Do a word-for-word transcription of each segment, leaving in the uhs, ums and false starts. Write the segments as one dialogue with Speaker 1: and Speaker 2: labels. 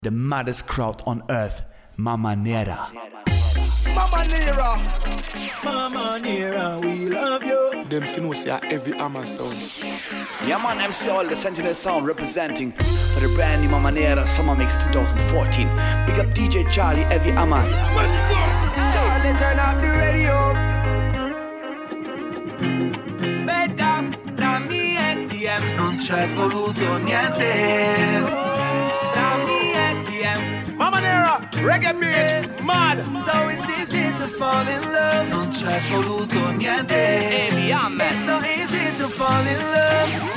Speaker 1: The maddest crowd on earth, Mama Nera.
Speaker 2: Mama Nera,
Speaker 3: Mama Nera, we love you.
Speaker 2: Them finna say every Amma sound.
Speaker 1: Yeah man, M C All, the Sentinel Sound representing for the brand new Mama Nera Summer Mix twenty fourteen. Big up D J Charlie, every Amma.
Speaker 2: Let's go!
Speaker 3: Charlie, turn up the radio. Bella, dammi E T M. Non c'è voluto niente.
Speaker 2: Mama Nera, reggae bitch, mad.
Speaker 3: So it's easy to fall in love. Non c'è voluto niente. It's so easy to fall in love.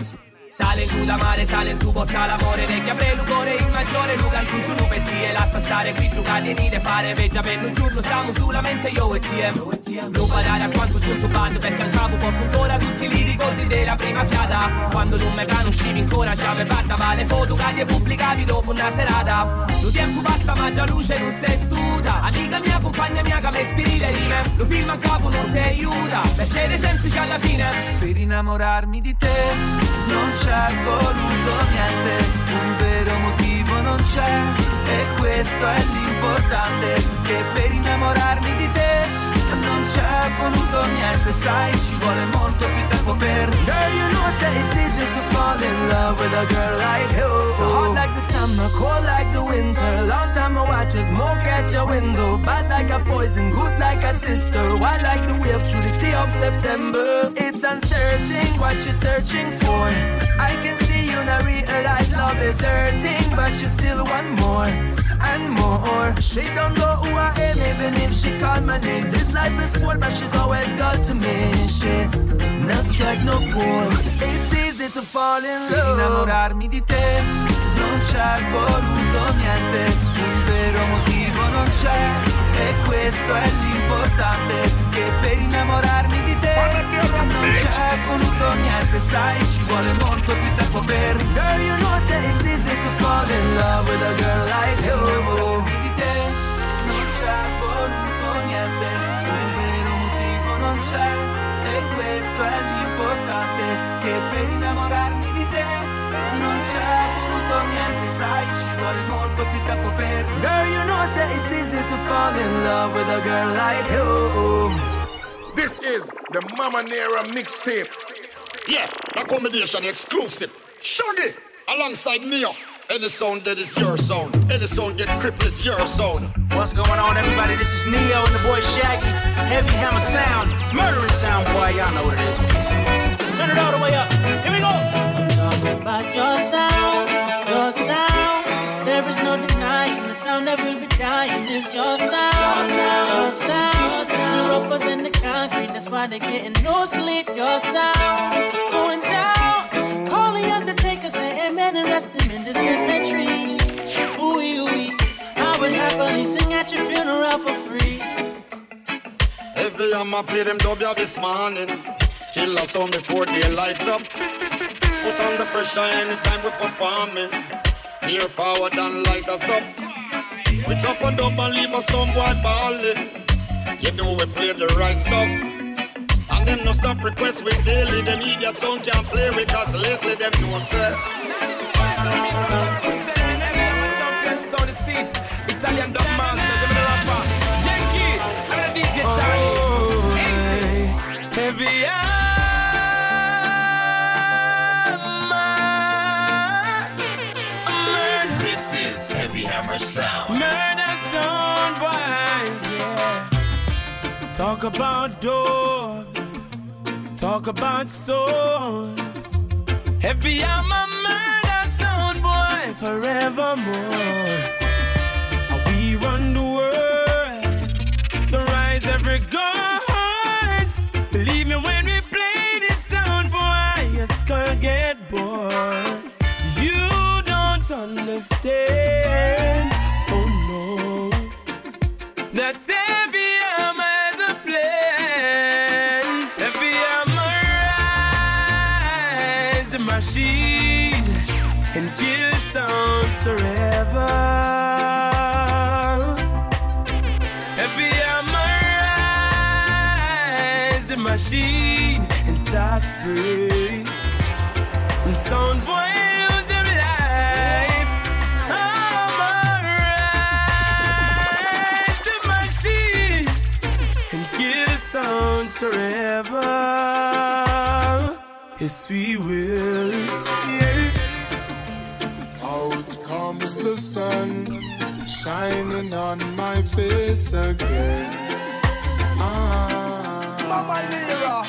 Speaker 3: Sale in tu da mare, sale in tu porta l'amore. Vecchia prelucore, il maggiore Lugan tu su lupetti. E lascia stare qui giocare e nide fare. Veggia per un giorno stiamo solamente io e T M. Non badare a quanto sul tuo bando, perché al capo porto ancora tutti i ricordi della prima fiata. Quando non me conoscevi ancora ci avevi fatta male foto che hai pubblicavi dopo una serata. Lo tempo passa ma già luce non sei studa. Amica mia, compagna mia che mi ispiri le rime. Lo film a capo non ti aiuta, piacere semplice alla fine. Per innamorarmi di te non c'è voluto niente, un vero motivo non c'è, e questo è l'importante, che per innamorarmi di te non c'è voluto niente, sai ci vuole molto più tempo per. Girl, you know say it's easy to fall in love with a girl like you. So hot like the summer, cold like the winter. Long time I watch you smoke at your window. Bad like a poison, good like a sister. Wild like the wave through the sea of September. It's uncertain what you're searching for. I can see you now realize love is hurting, but you still want more and more. She don't know who I am even if she called my name. This life is poor but she's always got to me. She no strike no pause. It's easy to fall in love. Per innamorarmi di te non c'è voluto niente, un vero motivo non c'è, e questo è l'importante, che per innamorarmi di te non c'è voluto niente, sai ci vuole molto più tempo per. Girl, you know say it's easy to fall in love with a girl like you. Per innamorarmi di te non c'è voluto niente, un vero motivo non c'è, e questo è l'importante, che per innamorarmi di te non c'è voluto niente, sai ci vuole molto più tempo per. Girl, you know say it's easy to fall in love with a girl like you.
Speaker 2: This is the Mama Nera mixtape.
Speaker 4: Yeah, the combination exclusive. Shaggy alongside Neo. Any sound that is your sound. Any sound get crippled is your sound.
Speaker 5: What's going on, everybody? This is Neo and the boy Shaggy. Heavy Hammer Sound, murdering sound, boy. Y'all know what it is. Peace. Turn it all the way up. Here we go. I'm talking about your sound, your sound. There is no denying the sound that will be dying is your sound, your sound. You're rougher than the concrete, that's why they're getting no sleep. Your sound going down. Call the undertaker, say amen and rest him in the cemetery. Ooh, ooh, I would happily sing at your funeral for free.
Speaker 4: Heavy Hammer play them W this morning. Kill us on before day lights up. Put on the pressure anytime we performing. Here forward and light us up. We drop a dub and leave us some boy balling. You know we play the right stuff. And them no stop requests with daily. Them idiot sound can't play with us lately. Them no say.
Speaker 3: Italian dub masters, I'm the rapper Jenky, I'm the D J Charlie. Easy. Heavy Hammer.
Speaker 6: This is Heavy Hammer Sound.
Speaker 3: Murder sound, boy, yeah. Talk about dogs, talk about soul. Heavy Hammer, murder sound, boy, forevermore. We run the world, so rise every guards. Believe me when we play this sound, boy, your skull get bored. You don't understand, oh no, that every hammer has a plan. Every hammer rise the machine and kill sounds forever. Machine and start spray and sound boy lose them life. Oh forever. Yes, we will.
Speaker 2: Yeah. Out comes the sun, shining on my face again. Ah, Mama Nera.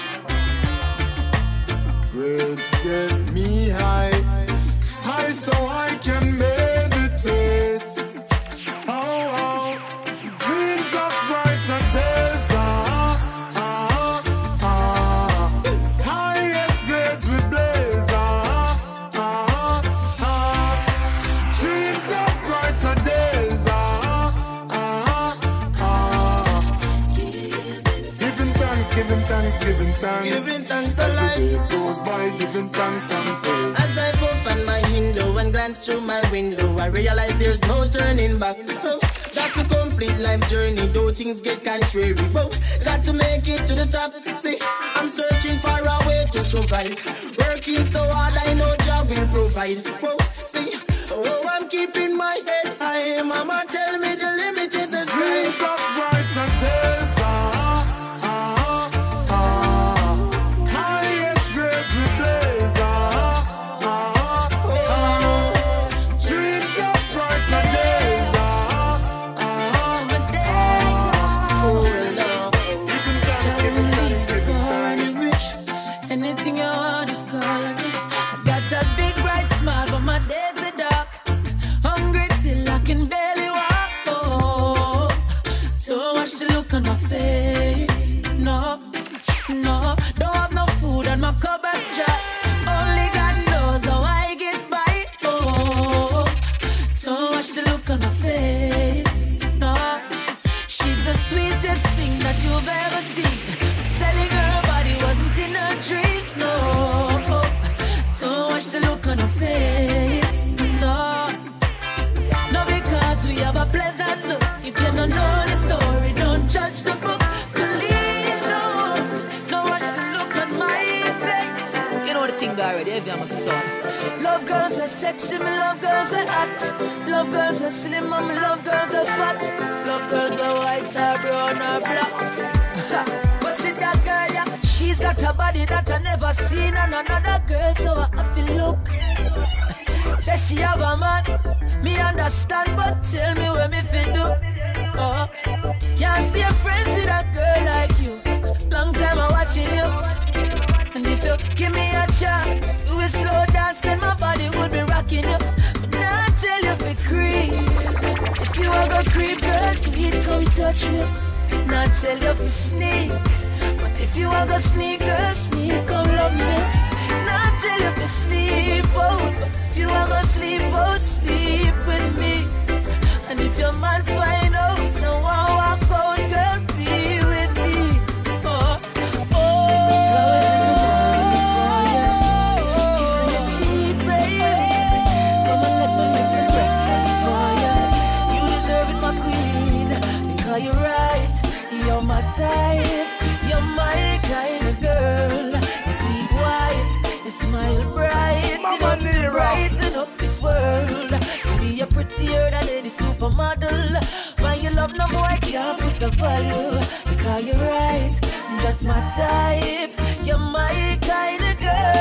Speaker 2: Words get me high, high so I can meditate. Oh, oh. Dreams of brighter days. Ah, ah, ah. Highest grades we blaze. Ah, ah, ah. Dreams of brighter days. Ah, ah, ah. Giving thanks, giving thanks, giving thanks.
Speaker 7: Giving thanks
Speaker 2: as
Speaker 7: a
Speaker 2: the
Speaker 7: life.
Speaker 2: days goes by, giving thanks and praise.
Speaker 7: As I puff on my window and glance through my window, I realize there's no turning back. Oh, got to complete life's journey, though things get contrary. Oh, got to make it to the top. See, I'm searching for a way to survive. Working so hard, I know job will provide. Oh, see, oh, I'm keeping my head high. Mama tell me the limit is the sky.
Speaker 2: Dreams of brighter days. Ah, ah, ah. Highest grades we blaze. Ah, ah, ah. Dreams of brighter days. Ah, ah, ah.
Speaker 7: Oh, love.
Speaker 2: Giving thanks, giving thanks, giving thanks.
Speaker 8: Anything you want, just call on me. I got a big bright smile, but my days are dark. Hungry till I can barely walk. Oh, don't watch the look on my face. No, no, don't have no food and my cupboard's dry. Only God knows how I get by. Oh, don't watch the look on my face. No, she's the sweetest thing that you've ever seen. Selling her body wasn't in her dreams, no. Don't watch the look on her face, no. No, because we have a pleasant look. If you don't know the story, don't judge the book. Please don't. Don't watch the look on my face. You know the thing already, if I'm a son. Love girls are sexy, me love girls are hot. Love girls are slim, and me love girls are fat. Love girls are white or brown or black. But see that girl, yeah, she's got a body that I never seen on another girl, so I feel look. Say she have a man, me understand, but tell me what me fit do. Oh, can't stay friends with a girl like you. Long time I'm watching you, and if you give me a chance, do a slow dance, then my body would be rocking you. But now I tell you for creep, but if you are gonna creep, girl, please come touch me. Now tell you for sneak, but if you are gonna sneak, girl, sneak, come love me. Now tell you for sleep out, but if you are gonna sleep out, sleep with me. And if your man find out, so won't walk out, girl, be with me. Oh, oh, flowers in the morning for you, kissing your cheek, baby. Come and let me make some breakfast for you. You deserve it, my queen, because you're right. You're my type, you're my kind of girl. Your teeth white, you smile bright,
Speaker 2: Mama
Speaker 8: you look brighten up this world. To be a prettier than any supermodel. When you love no more, I can't put a value. Because you're right, just my type, you're my kind of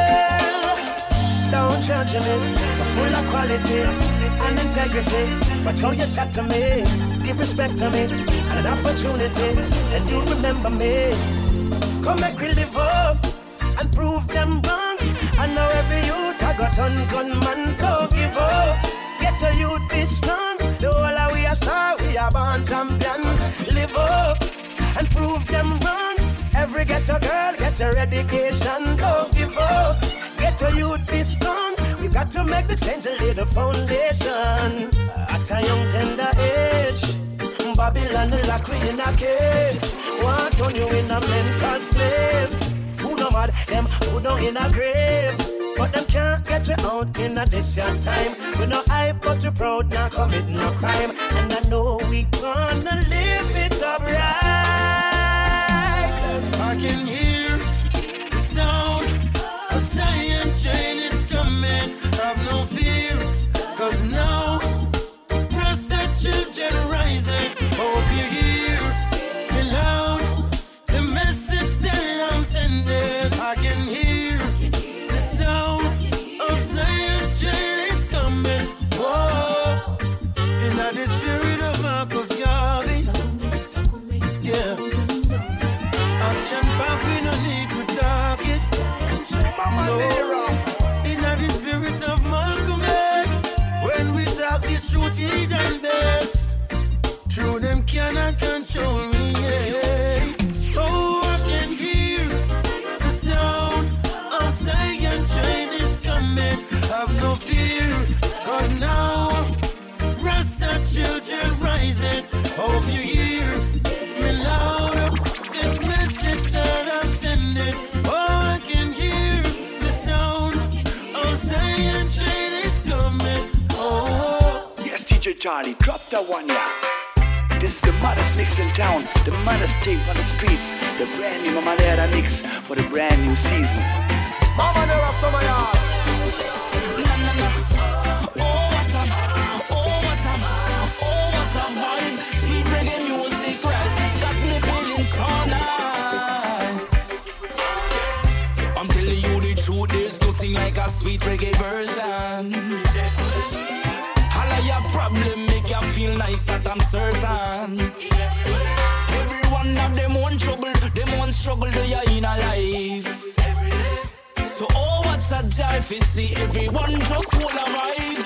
Speaker 8: girl.
Speaker 3: Don't judge me, you're full of quality and integrity. But how you chat to me, give respect to me, and an opportunity, and you'll remember me. Come make we live up and prove them wrong. I know every youth I got on gunman, don't give up. Get a youth be strong. The whole of we are star, we are born champion. Live up and prove them wrong. Every ghetto girl gets her education, don't give up. Get a youth be strong. We got to make the change and lay the foundation. At a young tender age, Babylon lock we in a cage. Want on you in a mental slave. Who no mad, them who down in a grave. But them can't get you out in a distant time. We no hype but we proud, not commit no crime. And I know we gonna live it up right.
Speaker 9: I can hear the sound of Zion train is coming. Have no fear, cause now Rasta children rising. Hope you hear me loud. The message there cheat and vex. True, them cannot control me, yeah. Oh, I can hear the sound of Zion train is coming. Have no fear, cause now Rasta children rising. Hope you hear me louder. This message that I'm sending. Oh, I can hear the sound of Zion train is coming. Oh,
Speaker 1: yes, D J Charlie, drop that one, yeah. This is the maddest mix in town, the maddest tape on the streets, the brand new Mama Nera mix for the brand new season.
Speaker 10: Mama Nera from my yard.
Speaker 3: Na na na. Oh what a, oh what a, oh what a vibe. Sweet reggae music, right? Got me feeling so nice. I'm telling you the truth, there's nothing like a sweet reggae version. Your problem make you feel nice, that I'm certain. Every one of them want trouble, them want struggle, they are in a life. So oh, what's a jive, you see, everyone just full of vibes.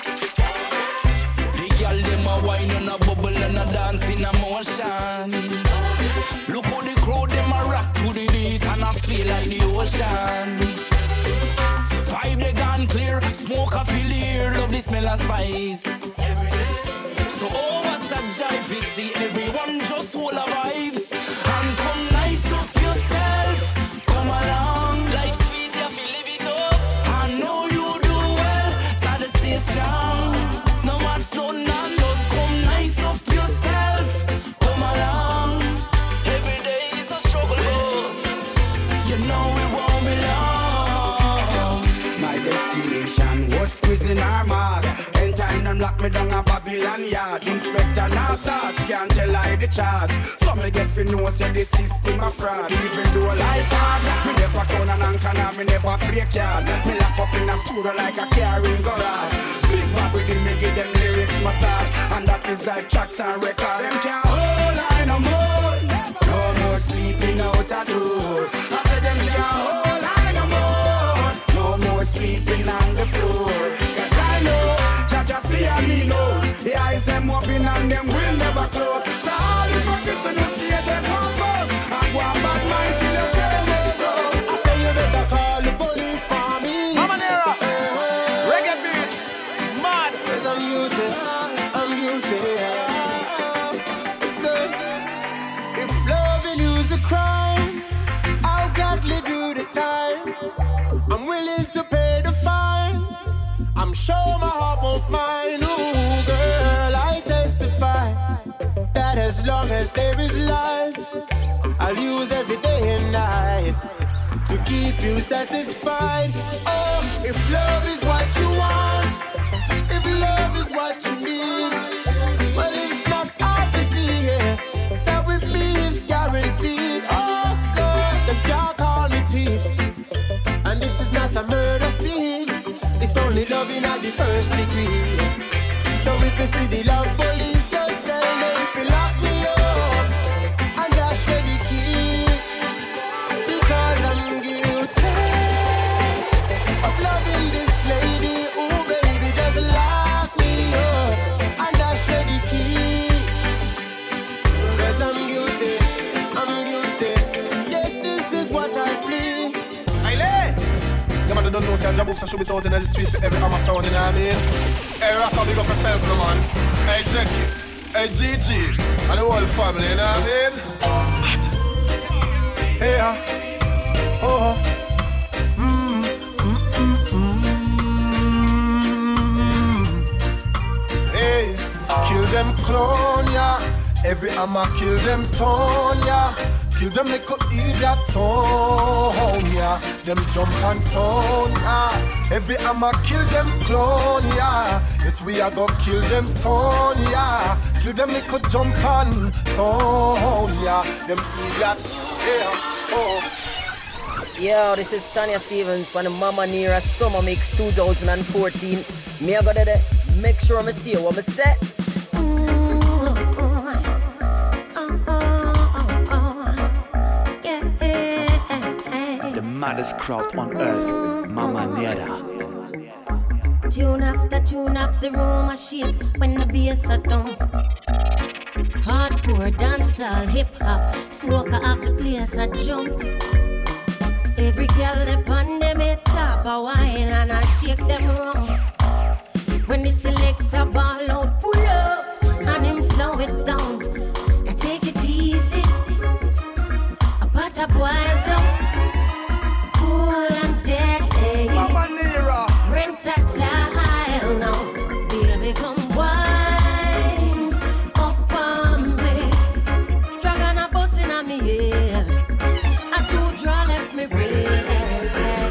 Speaker 3: The girl, them a wine and a bubble and a dance in a motion. Look how the crowd, them a rock to the beat and a sway like the ocean. Vibe they gone clear, smoke a fill here, love the smell of spice. So oh, what's a jive, you see, everyone just full of vibes. And come nice up yourself, come along, like sweet, you feel live it up. I know you do well, gotta stay strong. No one's done and just come nice up yourself, come along. Every day is a struggle, but you know it won't be long.
Speaker 11: My destination was prison or mark. Anytime them lock me down a Babylon yard. Inspector now search, can't tell I the charge. Some me get fi know say the system a fraud. Even though life hard, me never count an anchor now me never break yard. Me lock up in a suit like a carrying garage. Big bag with him, me give them lyrics massage. And that is like tracks and record. Them can't hold I no more. No more sleeping out a door. I said them can't hold I no more. No more sleeping on the floor. Cause I know Jaja see and he knows. The eyes them open and them will never close. So all the buckets in the state they compose. I go a bad mind till the day will go.
Speaker 9: I say you better call the police for me.
Speaker 10: Mama Nera,
Speaker 9: uh-huh.
Speaker 10: reggae beat, mad.
Speaker 9: Cause I'm guilty, I'm guilty. So, if loving you's a crime, I'll gladly do the time. I'm willing to pay the fine. I'm sure my heart won't mind. Ooh, girl, I testify that as long as there is life, I'll use every day and night to keep you satisfied. Oh, if love is what you want, if love is what you need, well, it's not hard to see here that with me it's guaranteed. Oh, girl, them can't call me thief, and this is not a murder scene. It's only loving at the first degree. So if you see the love police, just tell them if you lock me up and dash for the key. Because I'm guilty of loving this lady. Oh baby, just lock me up and dash for the key. Cause I'm guilty, I'm guilty. Yes, this is what I plead.
Speaker 10: The man don't know say Jabu should be out in the street for every hammer sound, you know what I mean? Hey Rafa, big up yourself, no man. Hey Jackie, hey Gigi, and the whole family, you know what I mean? What? Hey ha, oh ha, mm, mm, mm, mm. Hey, kill them clone, yeah. Every hammer kill them son, yeah. Kill them like a idiot son, yeah. Them jump and son, yeah. Every hammer kill them clone, yeah. Yes, we are gonna kill them son, yeah. Kill them like a jump and son, yeah. Them idiots, yeah. Oh.
Speaker 12: Yo, this is Tanya Stevens from the Mama Nera Summer Mix twenty fourteen. Me I go there, make sure I see what I say.
Speaker 1: The maddest crowd on earth, Mama Nera.
Speaker 13: Tune after tune off the room I shake when the bass a thump. Hardcore, dancehall, hip hop, smoker off the place a jump. Every girl up on them head top a wine and I shake them wrong. When the selector ball out, pull up and him slow it down. And take it easy, a butter boil down. Cool and dead, hey.
Speaker 10: Mama Nira,
Speaker 13: rent a tile now. Baby, come wine up on me. Dragon a bustin' on me head. I do draw left me red.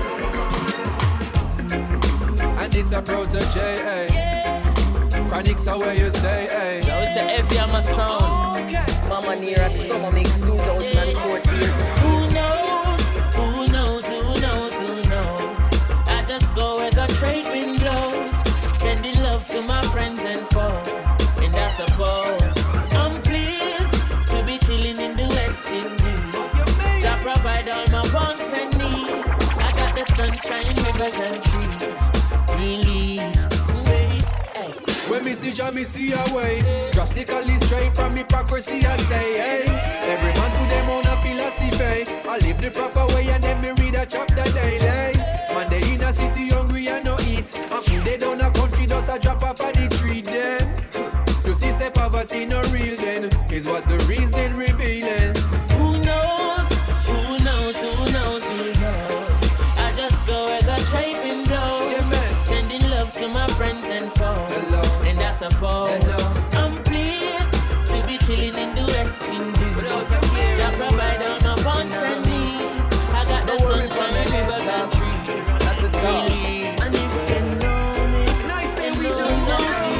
Speaker 10: and it's a protege, eh? Yeah. Chronics are where you say, eh?
Speaker 12: Now it's the heavy on my sound. Okay. Mama Nira Summer Mix twenty fourteen.
Speaker 3: Who knows? Who knows? Who knows? Who knows? I just go where the trade wind blows, sending love to my friends and foes, and I suppose I'm pleased to be chilling in the West Indies. To provide all my wants and needs. I got the sunshine, rivers and trees. Relief, wait, hey.
Speaker 10: When me see Jah, me see a way. Drastically straight from hypocrisy, I say, hey. Every man to them own a philosophy. I live the proper way and then me read a chapter daily. Man, they in a city hungry and no eat. And food they down a country, just a drop off of the tree then. You see, say poverty no real then. Is what the reason revealing.
Speaker 3: Who knows? Who knows? Who knows? Who knows? I just go where the trade wind blows, yeah, man. Sending love to my friends and foes. Hello. And I suppose Hello. I'm pleased to be chilling in the West Indies. Without a care, I provide all my wants and needs. I got the sunshine, rivers and trees. That's a talk. And if you know me, nice and we just know me.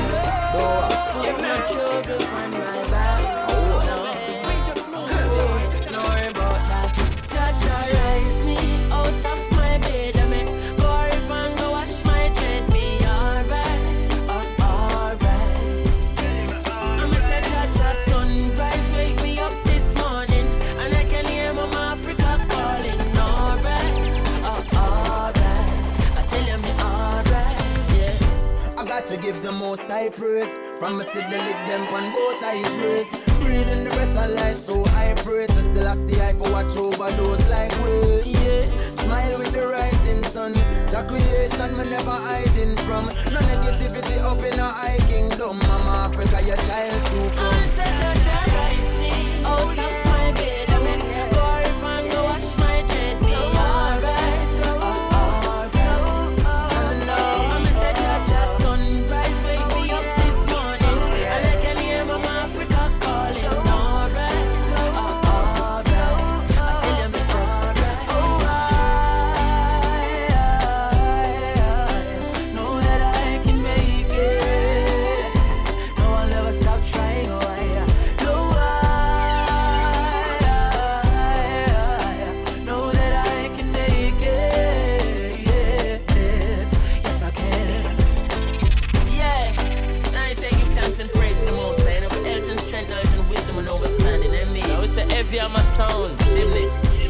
Speaker 3: Put my trouble on my back. No, we just know. Don't worry about that. Jah raise me out of my bed. I make go if and go wash my dread. Be alright, oh alright. I'm a say Jah sunrise wake me up this morning, and I can hear Mama Africa calling. Alright, oh alright. I tell you me alright, yeah.
Speaker 7: I got to give the most high praise. From me see the lick them on both eyes raised. Breathing the breath of life, so I pray to still I see I for watch over those like we. Yeah. Smile with the rising sun. Jah creation me never hiding from. No negativity up in a high kingdom. Mama Africa, your child super.
Speaker 3: I said Jah rise me out of my bed. I mean, go if and go wash my dread. Be alright, oh alright. I'm a say Jah sunrise wake me up this morning, and I can hear Mama Africa calling. Alright, oh alright. I tell you it's alright. Oh I know that I can make it. No, I'll never stop trying. Oh I know I know that I can make it. Yes I can. Yeah, I say give thanks and praise to the Most High, and for Elton's strength, knowledge and wisdom and understanding in me. Now it's the heavy on my sound, chimney.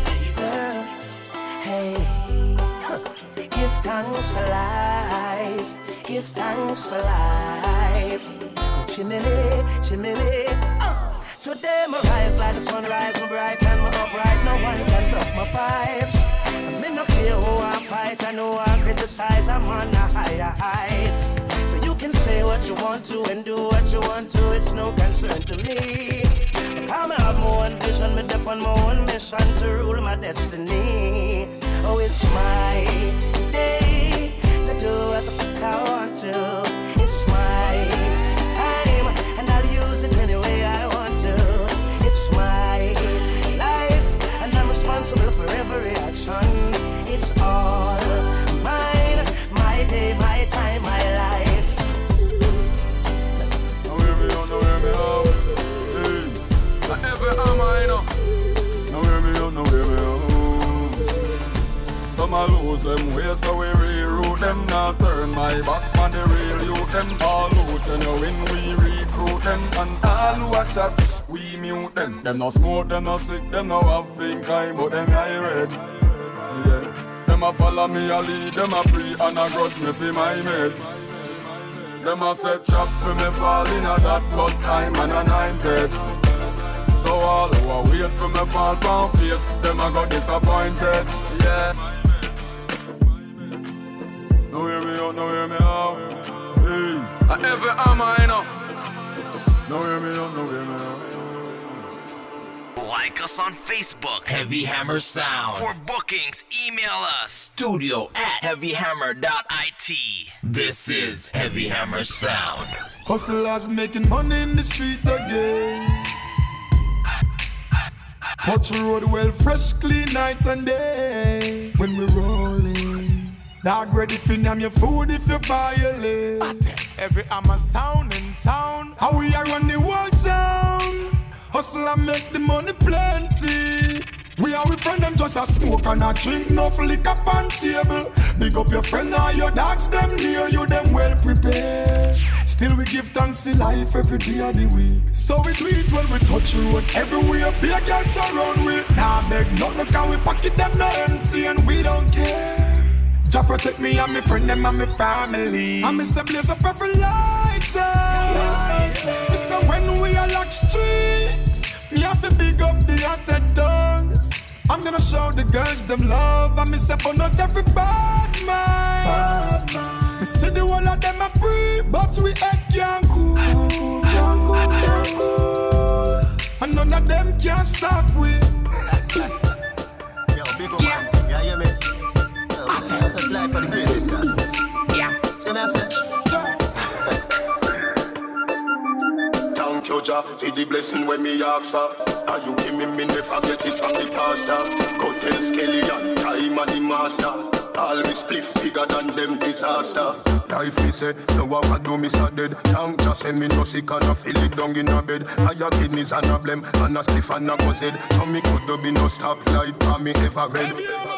Speaker 14: Hey, give thanks for life. Give thanks for life. Oh, chimney, chimney. Uh. Today my rise like the sunrise, my bright and my upright. No one can block my vibes. I'm in no care who I fight. I know I criticize. I'm on the higher heights. So you can say what you want to and do what you want to. It's no concern to me. I'm have my own vision, me dip on my own mission to rule my destiny. Oh, it's my day to do what the fuck I want to. It's my time, and I'll use it any way I want to. It's my life, and I'm responsible for every action. It's all mine, my day, my time, my life.
Speaker 15: Now hear me on, now hear me out. Hey, now every am I know. Now hear me on, now hear me out. Some a lose them way, so we reroute them. Now turn my back on the real youth. Them all who genuine, we recruit them. And all who a chat, we mute them. Them no smoke, them no sick, them no have pink eye, but them eye red. Yeah. Them a follow me a lead, them a pre and a grudge me for my mates. Them a set trap for me fall in a that but time and anointed. So all who a wait for me fall pound face, them a got disappointed. Yeah. No hear me out, no hear me out. Hey, I ever am I know. No hear me out, no hear me out.
Speaker 6: Like us on Facebook, Heavy Hammer Sound. For bookings, email us, studio at heavy hammer dot I T. This is Heavy Hammer Sound.
Speaker 2: Hustlers making money in the streets again. Touch the road well, fresh, clean night and day. When we rolling, dog ready for name your food if you violate. Every hammer sound in town, how we are run the whole town. Hustle and make the money plenty. We are with friend them just a smoke and a drink, no liquor on table. Big up your friend or your dogs, them near you, them well prepared. Still we give thanks for life every day of the week. So we do it when we touch the road everywhere. Big girls surround we. Nah beg nothing, look how we pocket them no empty and we don't care. Jah protect me and my friend them and my family. And me say blaze up every lighter. Me say when we are lock streets, me have to big up the hotter dogs. I'm gonna show the girls them love. And me say but not every bad man. Me say the whole of them a free, but we head can't cool. Can't cool, can't cool. And none of them can stop we.
Speaker 16: Yo, big up man, you hear me? That's life for the greatest guys. Yeah. See me I say? Thank you, Jah, for the blessing when me ask for. And you give me, me never get it from the pastor. Go tell Skelly and time and the master. All me spliff bigger than them disaster. Life me say, no one can do me so dead. Thank Jah say me no sick and I feel it down in a bed. I have kidneys and a blem and a spliff and a buzzed. So me could be no stop light for me ever read.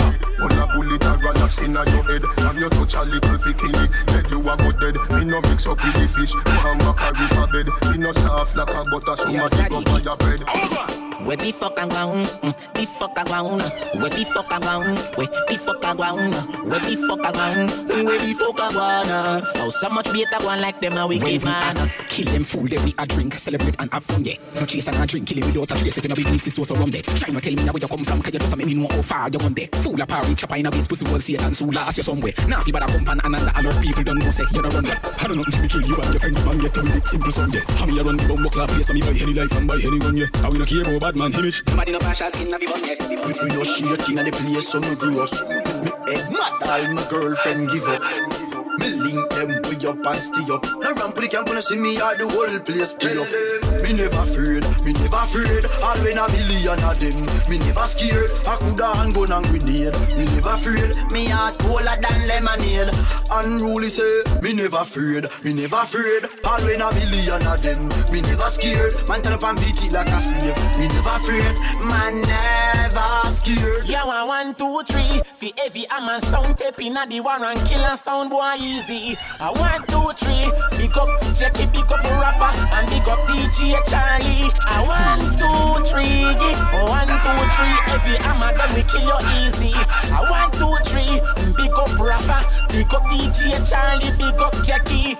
Speaker 16: On a bullet a run a sin on your head. And you touch a little bikini, dead you a go dead. Me no mix up with the fish, one back a river bed. Me no soft like a butter, so much dig up on your bread.
Speaker 17: Where the fuck I want? The fuck I want? Where the fuck I want? Where the fuck I want? Where the fuck I want? Where the fuck I want? Oh, so much better one like them a wicked man.
Speaker 18: Kill them fool, they we a drink, celebrate and have fun, yeah. No chase and a drink, kill him without a trace. If you know believe this was around there. Try not tell me now where you come from, cause you just make me know how far you gone there. Fool a party, chopper in a base, pussy will see it and so last you somewhere. Now if you better come and another, a lot of people don't know say you don't run there. I don't know if we kill you and your friend man, get to be simple song, yeah. How me a run the bum buckler place, and me buy any life and buy any gun, yeah. How we no care about bad man image.
Speaker 17: Nobody no partial skin of you one yet.
Speaker 11: We, we no shaking at the place so me grew up. Me head mad, all my girlfriend give up. Me link them way up and stay up. Now ramp the camp when I see me all the whole place play up. Me never afraid, me never afraid. All when a million of them, me never scared. I coulda hand gun and grenade. Me never afraid, me heart colder than lemonade. Unruly say, me never afraid, me never afraid. All when a million of them, me never scared. Man turn up and beat it like a slave. Me never afraid, man never scared.
Speaker 17: Yeah, one, one, two, three. For every hammer sound tape in the war and kill and sound boy easy. I one, two, three. Big up Jackie, big up Rafa, and big up D J Charlie. I one, two, three. One, two, three. Every hammer done we kill you easy. I one, two, three. Big up Rafa, big up D J Charlie, big up Jackie.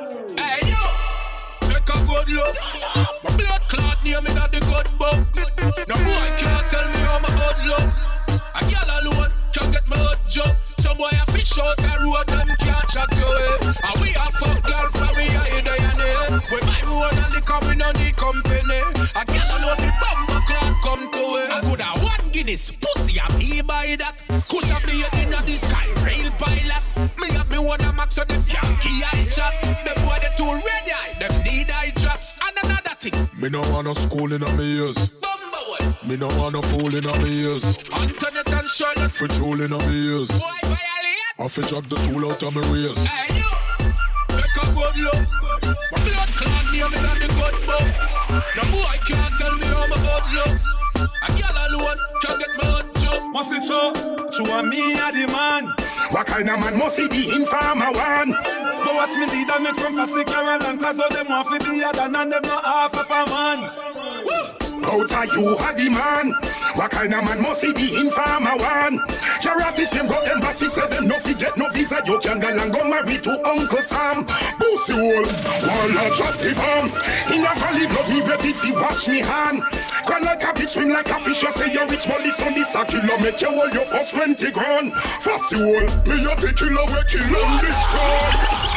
Speaker 19: Hey yo, take a good look. My blood clot near me not the good book. No boy can't tell me how my hood look. A girl alone can't get my hood joke. Some boy a fish out the road and can't chat to it. And we a fuck girl from we a in the end. We buy road and liquor, we no need company. A girl alone the bumper clot come to it. I could have one Guinness pussy and me buy that. Kush a blade in the sky, rail pilot. Me have me one a max so them can't key eye chop. Them boy they too ready, them need eye drops. And another thing,
Speaker 15: me no want no school in a me ears. Me no want no fool in a me ears.
Speaker 19: Antoinette and Charlotte
Speaker 15: for troll in a me ears.
Speaker 19: Boy violate,
Speaker 15: I fi drag the tool out of me waist.
Speaker 19: Hey you, take a good look. My blood clot near me not the good book. No boy can't tell me how my hood look. A girl alone can't get my hood joke.
Speaker 20: Must it show? True and me a the man.
Speaker 11: What kind of man must he be in farmer one?
Speaker 20: But watch me lead and make from Fassi Carol and cause all them want to be a than and them not half of a man. Woo!
Speaker 21: out of you are the man. What kind of man must he be in farmer one? Your artist them go embassy, say them no forget no visa. You can go and go marry to Uncle Sam. Pussy hole, while I drop the bomb. In a valley blood me ready if you watch me hand. Grand like a bitch, swim like a fish. You say you're rich, but this on this a killer. Make you hold your first twenty grand. Fussy hole, me a the killer, we kill and destroy.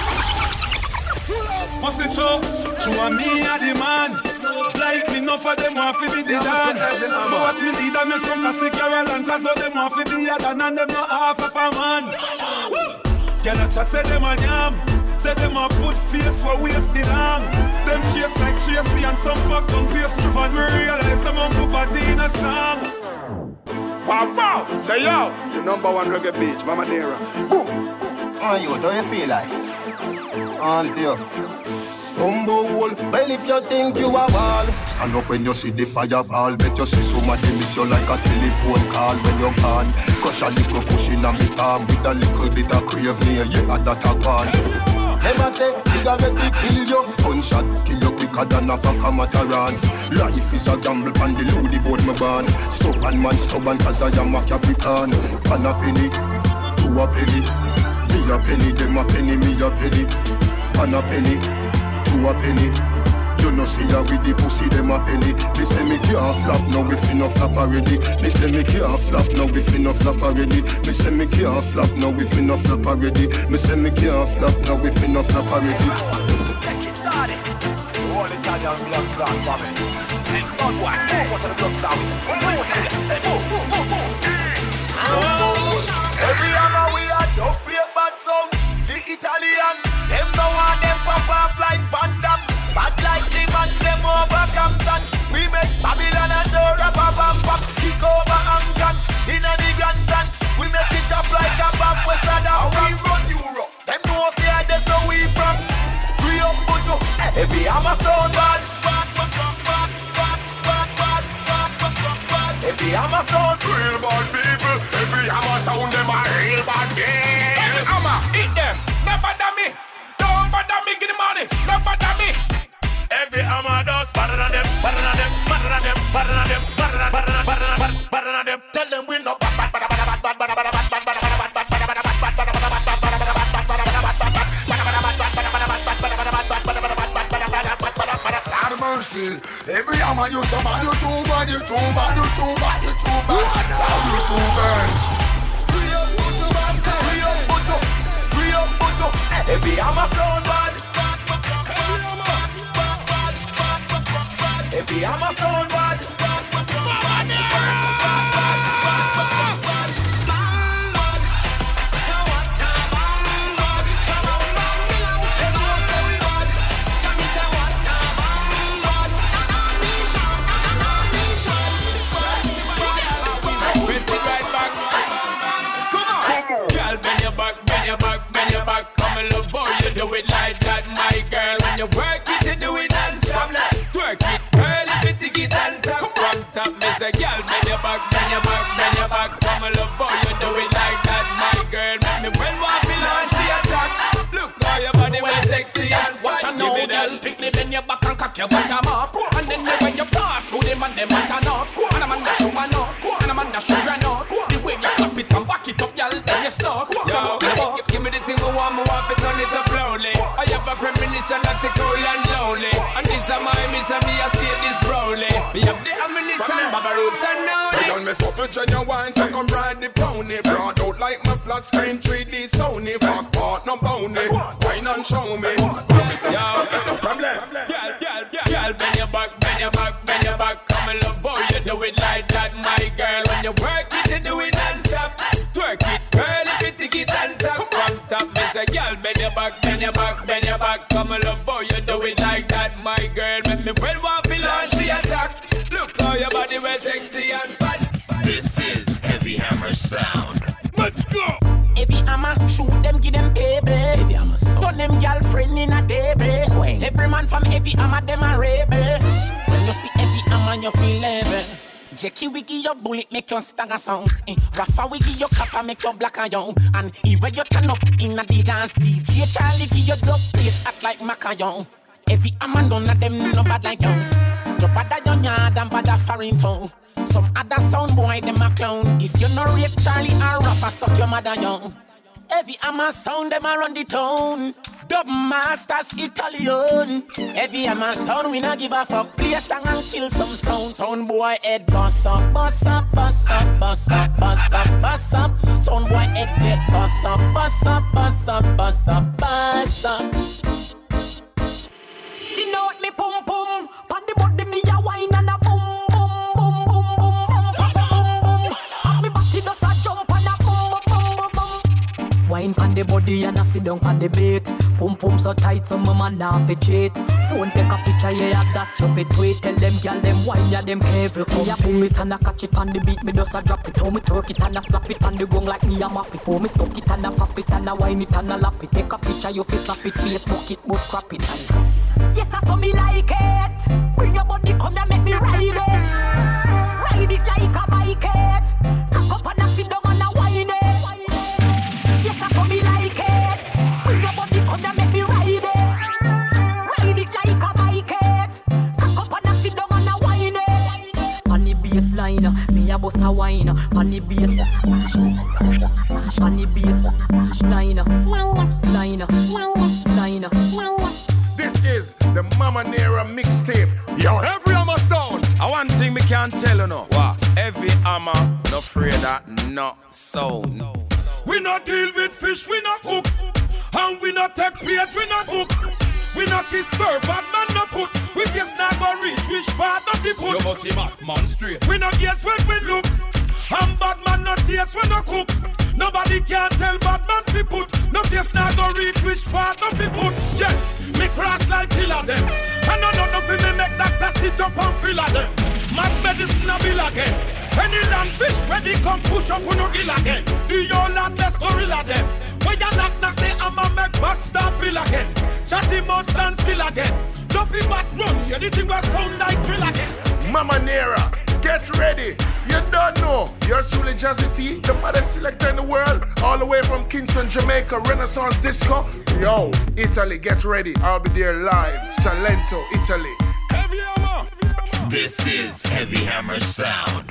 Speaker 20: What's it true? True and me a the man. Like me, no for them want to be the dan. But watch me lead and make some fussy Caroline. Cause all them want to be a dan and them not half of a man. Girl a chat say them a yam. Say them a put face where waist belong. Them chase like Tracy and some fuck on face. And me realize them uncle body in a song.
Speaker 21: Wow, wow, say yo, the number one reggae bitch, Mama Nera. Boom.
Speaker 10: Oh, you, how you feel like? On to you.
Speaker 21: Stumble.
Speaker 10: Well, if you think you are wall, stand up when you see the fireball. Bet you see somebody miss you like a telephone call when you're gone. Crush a little cushion on me palm with a little bit of crave near you at that a one. Never say, cigarette will kill you. Gunshot kill you quicker than a fuck a mataran. Life is a gamble and the loody boat me born. Stubborn man, stubborn cause I am a Capricorn. Pan a penny, two a penny. Me a penny, them a penny, me a penny. Pan a penny, two a penny. You know see ya with the pussy, them a penny. They say me can't flap, now we finna flap already. They say me can't flap, now we finna flap already. Me say me can't flap, now we finna flap already. Me say me can't flap, now we finna flap already.
Speaker 1: Take it, Sardi. All Italian blood clot for me. And son, what? Move to the blood clot. Move, move, move, move. Every hammer we are don't play bad song. The Italian, them no want them pop off like Van Damme. Bad like the man, them over Compton. We make Babylon a show rap a bam bam. Kick over Angan, in a the grandstand. We make it up like a bomb west of the we run Europe. Them no say that's how we from. Free up Buju, every hammer sound bad. Every hammer sound real bad people. Every hammer sound them a real bad game. Every hammer, eat them, never bother me. Don't bother me, get the money, never bother me. Every hammer does better than them, better than them, better than them, better than them, better than better than better than better than them. Tell them we no bad bad bad bad bad bad bad bad bad bad bad mercy. Every hammer you so bad, you too bad, you too bad, you too bad, you too bad, you too bad. Free up, Buju, free up, Buju, free up, Buju. Every hammer sound bad. Every hammer sound bad. Love how you do it like that, my girl. When you work it, you do it non-stop. Twerk it, girl, if you take it and top. From top, me say, girl, bend your back, bend your back, bend your back. Come and love how you do it like that, my girl. Make me well want to launch the attack. Look how your body was sexy and watch and know, girl. Pick me, bend your back and cock your bottom up. And then when you pass through them and them button up. And I'm on the show man up, and I'm on the show run up. The way you clap it and back it up, girl, then you stuck. Yo, give me the thing I want, I want to turn it up slowly. I have a premonition that it's cold and lonely. And this is my mission, me escape this proudly. Me have the ammunition, Baba Roots and now.
Speaker 21: So y'all mess up with genuine, so come ride the pony. Broad out like my flat screen, three D Sony. Back part, no bounty. Wine and show me. Yo, that's a problem.
Speaker 1: Girl, girl, girl, girl, bend your back, bend your back, bend your back. Come and love how you do it like that, my girl. When you work it, you do it non-stop. Twerk it, girl, if you take it and top. From top, me say, girl, bend your back, bend your back, bend your back. Come and love how you do it like that, my girl. Make me well want to launch the attack. Look how your body was sexy and fun.
Speaker 6: This is Heavy Hammer Sound.
Speaker 21: Let's go.
Speaker 17: Heavy hammer, shoot them, give them baby. Heavy hammer sound. Turn them girlfriend in a debate. Every man from Heavy hammer, them a rebel. When you see Heavy hammer, you feel level. Jackie we give your bullet, make your stagger sound. Eh, Rafa we give your copper, make your black and young. And even you turn up in a the dance, D J Charlie give your dub plate, act like Macayon. Every hammer none of them no bad like you. No bad at your yard and bad at foreign tongue. Some other sound boy, them a clown. If you no rate Charlie or Rafa, suck your mother young. Every hammer sound, them a run the town. Dub masters Italian. Every hammer sound, we not give a fuck. Play a song and kill some sound. Sound boy head boss up, boss up, boss up, boss up, boss up, boss up. Sound boy head get boss up, boss up, boss up, boss up, boss up.
Speaker 8: Skin out me pum pum, pan the body me a wine and a boom boom boom boom boom boom boom boom. And me body does a jump and a boom boom boom boom. Wine pan the body and a sit down pan the bait. Pum pum so tight so my man nah fi cheat. Phone take a picture yeah that you fit tweet. Tell them gyal them wine ya them careful. Me a pull it and a catch it on the beat. Me does a drop it. How me twerk it and a slap it on the gong like me a map it. How me stuck it and a pop it and a wine it and a lap it. Take a picture you fi snap it, Facebook it but crap it and. Yes, I saw me like it. Bring your body, come and make me ride it. Ride it like a bike it. Cock up and a sit down and a whine it. Yes, I saw me like it. Bring your body, come and make me ride it. Ride it like a bike it. Cock up and a sit down and a whine it. On the baseline, me a boss a wine. On the bass, on the bass, line, line, line, line.
Speaker 5: This is the Mama Nera mixtape. Yo, every hammer sound. I one thing me can't tell you no. What? Every hammer, no afraid that not sound. We not deal with fish, we not hook. And we not take plates, we not book. We not kiss fur, bad man no put. We just not go reach, which part of the put. You must see man, man straight. We not guess when we look. And bad man no taste, we no cook. Nobody can tell bad man fi put. No face not go reach which part of fi put. Yeah, me cross like killer them. I know no nothing me make that stitch up and fill of them. Mad medicine a bill again. Any land fish where they come push up on no gill again. Do your land let's gorilla them. When you knock knock they I'ma make back start bill again. Chatty mouth stand still again. Jumping back run, anything will sound like drill again. Mama Nera, get ready. You don't know. You're truly Jazzy T, the baddest selector in the world. All the way from Kingston, Jamaica, Renaissance Disco. Yo, Italy, get ready. I'll be there live. Salento, Italy. Heavy Hammer.
Speaker 6: This is Heavy Hammer Sound.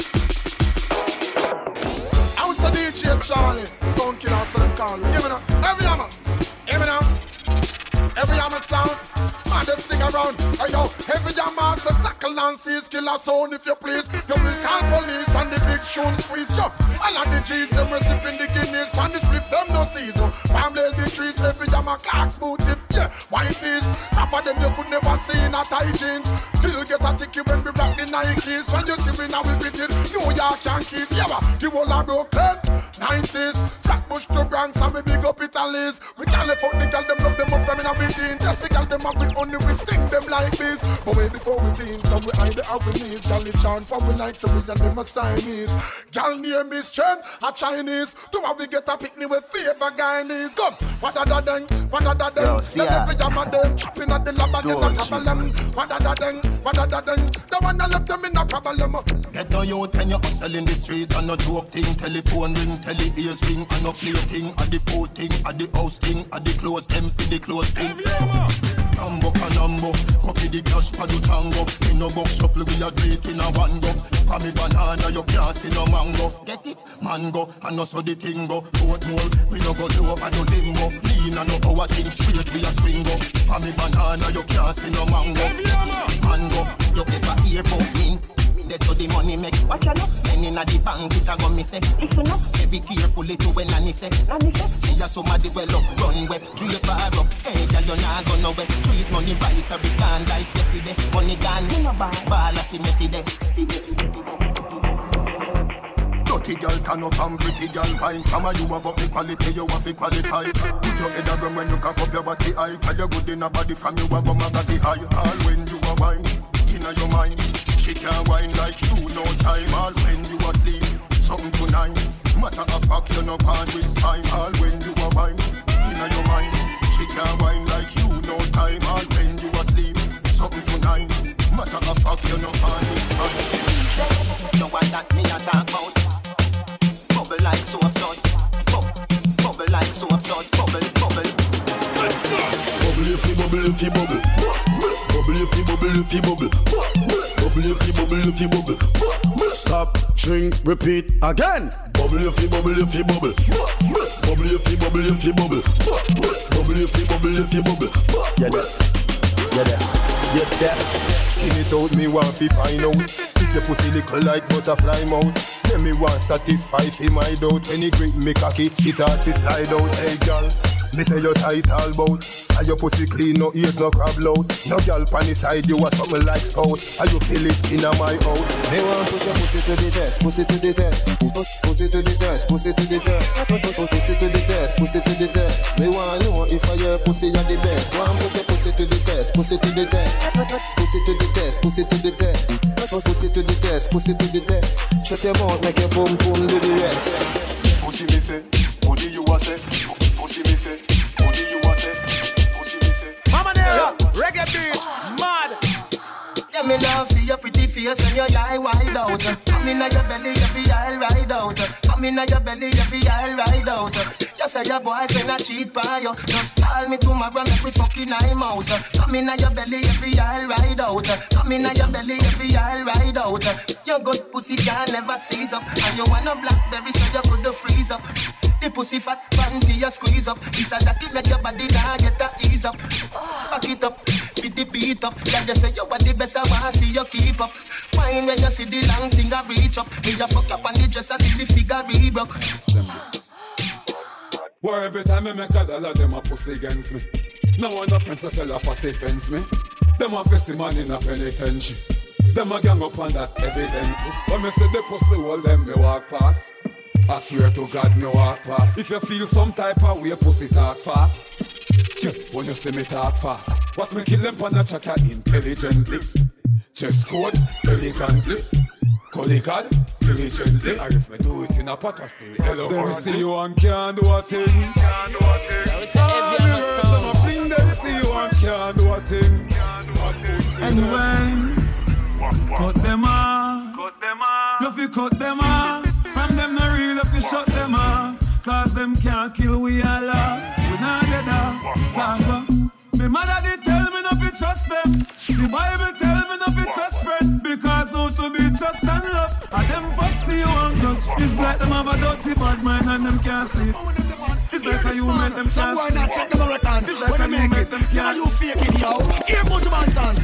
Speaker 10: I was the D J Charlie, Sound Killer, so them call me. Give me now. Heavy Hammer. Give me now. Every hammer sound, man, just stick around. Hey yo, every hammer, so sackle and seize, killer sound if you please. You will call police and the big tune squeeze. Yo, all of the G's, them recipping the Guinness and the split them no season. Family the trees, every hammer clocks boot tip. Yeah, white is, half of them you could never see in a tight jeans. Still get a ticket when we rock the Nikes. When you see me now we beat it, New York Yankees. Yeah, the whole of Brooklyn, nineties. Flatbush to Bronx and we big up Italy's. We can't let out the girl, them love them up from in a between. Just the girl, them up with only we sting them like this. But way before we teens, so we hide the our knees. Girl, it chant for we like so we and them a Siamese. Girl name is Chen, a Chinese. To how we get a picnic with favor Guyanese. Come, what a da dang, what a da dang. Then every jam of them chopping at the lab again a problem. What a da dang, what a da dang. The one that left them in a problem.
Speaker 16: Get on you when you hustle in the street and no joke thing. Telephone ring, tele ears ring and no play thing. At the food thing, at the house thing, at the clothes them for the clothes thing. Numbo canambo, coffee the cash for the tango. In no box shuffle we a do it in a one go. For me banana you can't see no mango. Get it? Mango, and no so the thing go. Boat mold, we no go low and no limbo. Lean and no power thing straight we a swing go. For me banana you can't see no mango. Mango, you ever hear about me? That's how the money make. Watch out, men inna the bank it a go me say. Listen up, be careful it when Nanny say. Nanny say, she a somebody well up, run way, drape her up. Hey, girl you nah go nowhere. Treat money right a big can like yesterday. Money gone, you know ball, ball a see messy day. Dirty girl turn up and pretty girl fine. Some of you have up the quality, you have to qualify. Put your head around when you cock up your body high. Tell you good in a body from you have a body high. All when you are wine, inna your mind. She can't whine like you, no time. All when you asleep, something tonight. Matter of fact, you no part with time. All when you are wine, inna your mind. She can't whine like you, no time. All when you asleep, something tonight. Matter of fact, you no part with time. No one that me a talk about. Bubble like soap sauce. Bubble like soap sauce. Bubble, bubble. Bubble if you bubble if you bubble. Bubble if you bubble if you bubble.
Speaker 21: Bubble if you bubble if you bubble. Stop, drink, repeat again. Bubble if you bubble if you bubble. Bubble if you bubble if you bubble. Bubble if you bubble if you bubble. Yeah, that. Yeah, that. Yeah, that. Skin it out, me want fi find out. If your pussy little like butterfly mouth, then me want satisfy fi my doubt. Any grip me cocky, it hard fi slide out. Hey girl, me say you tight all bout. And your pussy clean, no ears, no crab louse. No girl pan the side, you a something like spouse. And you feel it in a my house. Me want put your pussy to the test, pussy to the test. Pussy to the test, pussy to the test. Pussy to the test, pussy to the test. Me want know if I your pussy are the best. Want put your pussy to the test, pussy to the test. Pussy to the test, pussy to the test. Pussy to the test, pussy to the test. Shut your mouth, make your boom boom do the rest. Pussy me say, what do you want say? Pussy me say, what do you want say? Pussy me say.
Speaker 4: Mama Nera, reggae beat, mad.
Speaker 7: Yeah, me love see your pretty face and your eye wide out. Come in your belly, every eye ride out. Come in your belly, every eye ride out. You say your boyfriend a cheat by you. Just call me tomorrow, make we fucking eye mouse. Come in your belly, every eye ride out. Come in your belly, every eye ride out. Your good pussy can never seize up, and you want a blackberry so you could freeze up. The pussy fat panty you squeeze up. This a jacket make your body now get a ease up. Back it up, fit the beat up. Yeah, you say you are the best, I wanna see you keep up. Mind when you see the long thing I reach up. Me just fuck up on the dresser till the figure rebroke.
Speaker 20: Where every time I make a dollar, them a pussy against me. No one of friends to tell a pussy fence me. Them a face the man in a penitentiary. Them a gang up on that evidently. When me say the pussy hold them, me walk past. I swear to God, me walk fast. If you feel some type of way, pussy talk fast. Yeah, when you see me talk fast, watch me kill them on a chaka intelligently. Chest code, elegantly. Colleague, diligently. Or if me do it in a pot, I still hello. Them see you and can't do a thing. Can't do a thing. All the words of my fling, them see you and can't do a thing. And when cut them off, cut them off. You fi cut them off. From them no real, if you shut them off. Cause them can't kill we all off. We not dead off. Cause uh, me mother did tell me not to trust them. The Bible tell me not to trust friend. Because how to be trust and love. And them fuck see you and touch. It's like them have a dirty bad mind and them can't see. It's like how you make them can't see.
Speaker 21: Not check the marathon.
Speaker 20: It's like how you make them can't see.
Speaker 21: You faking yo. Here put your hands.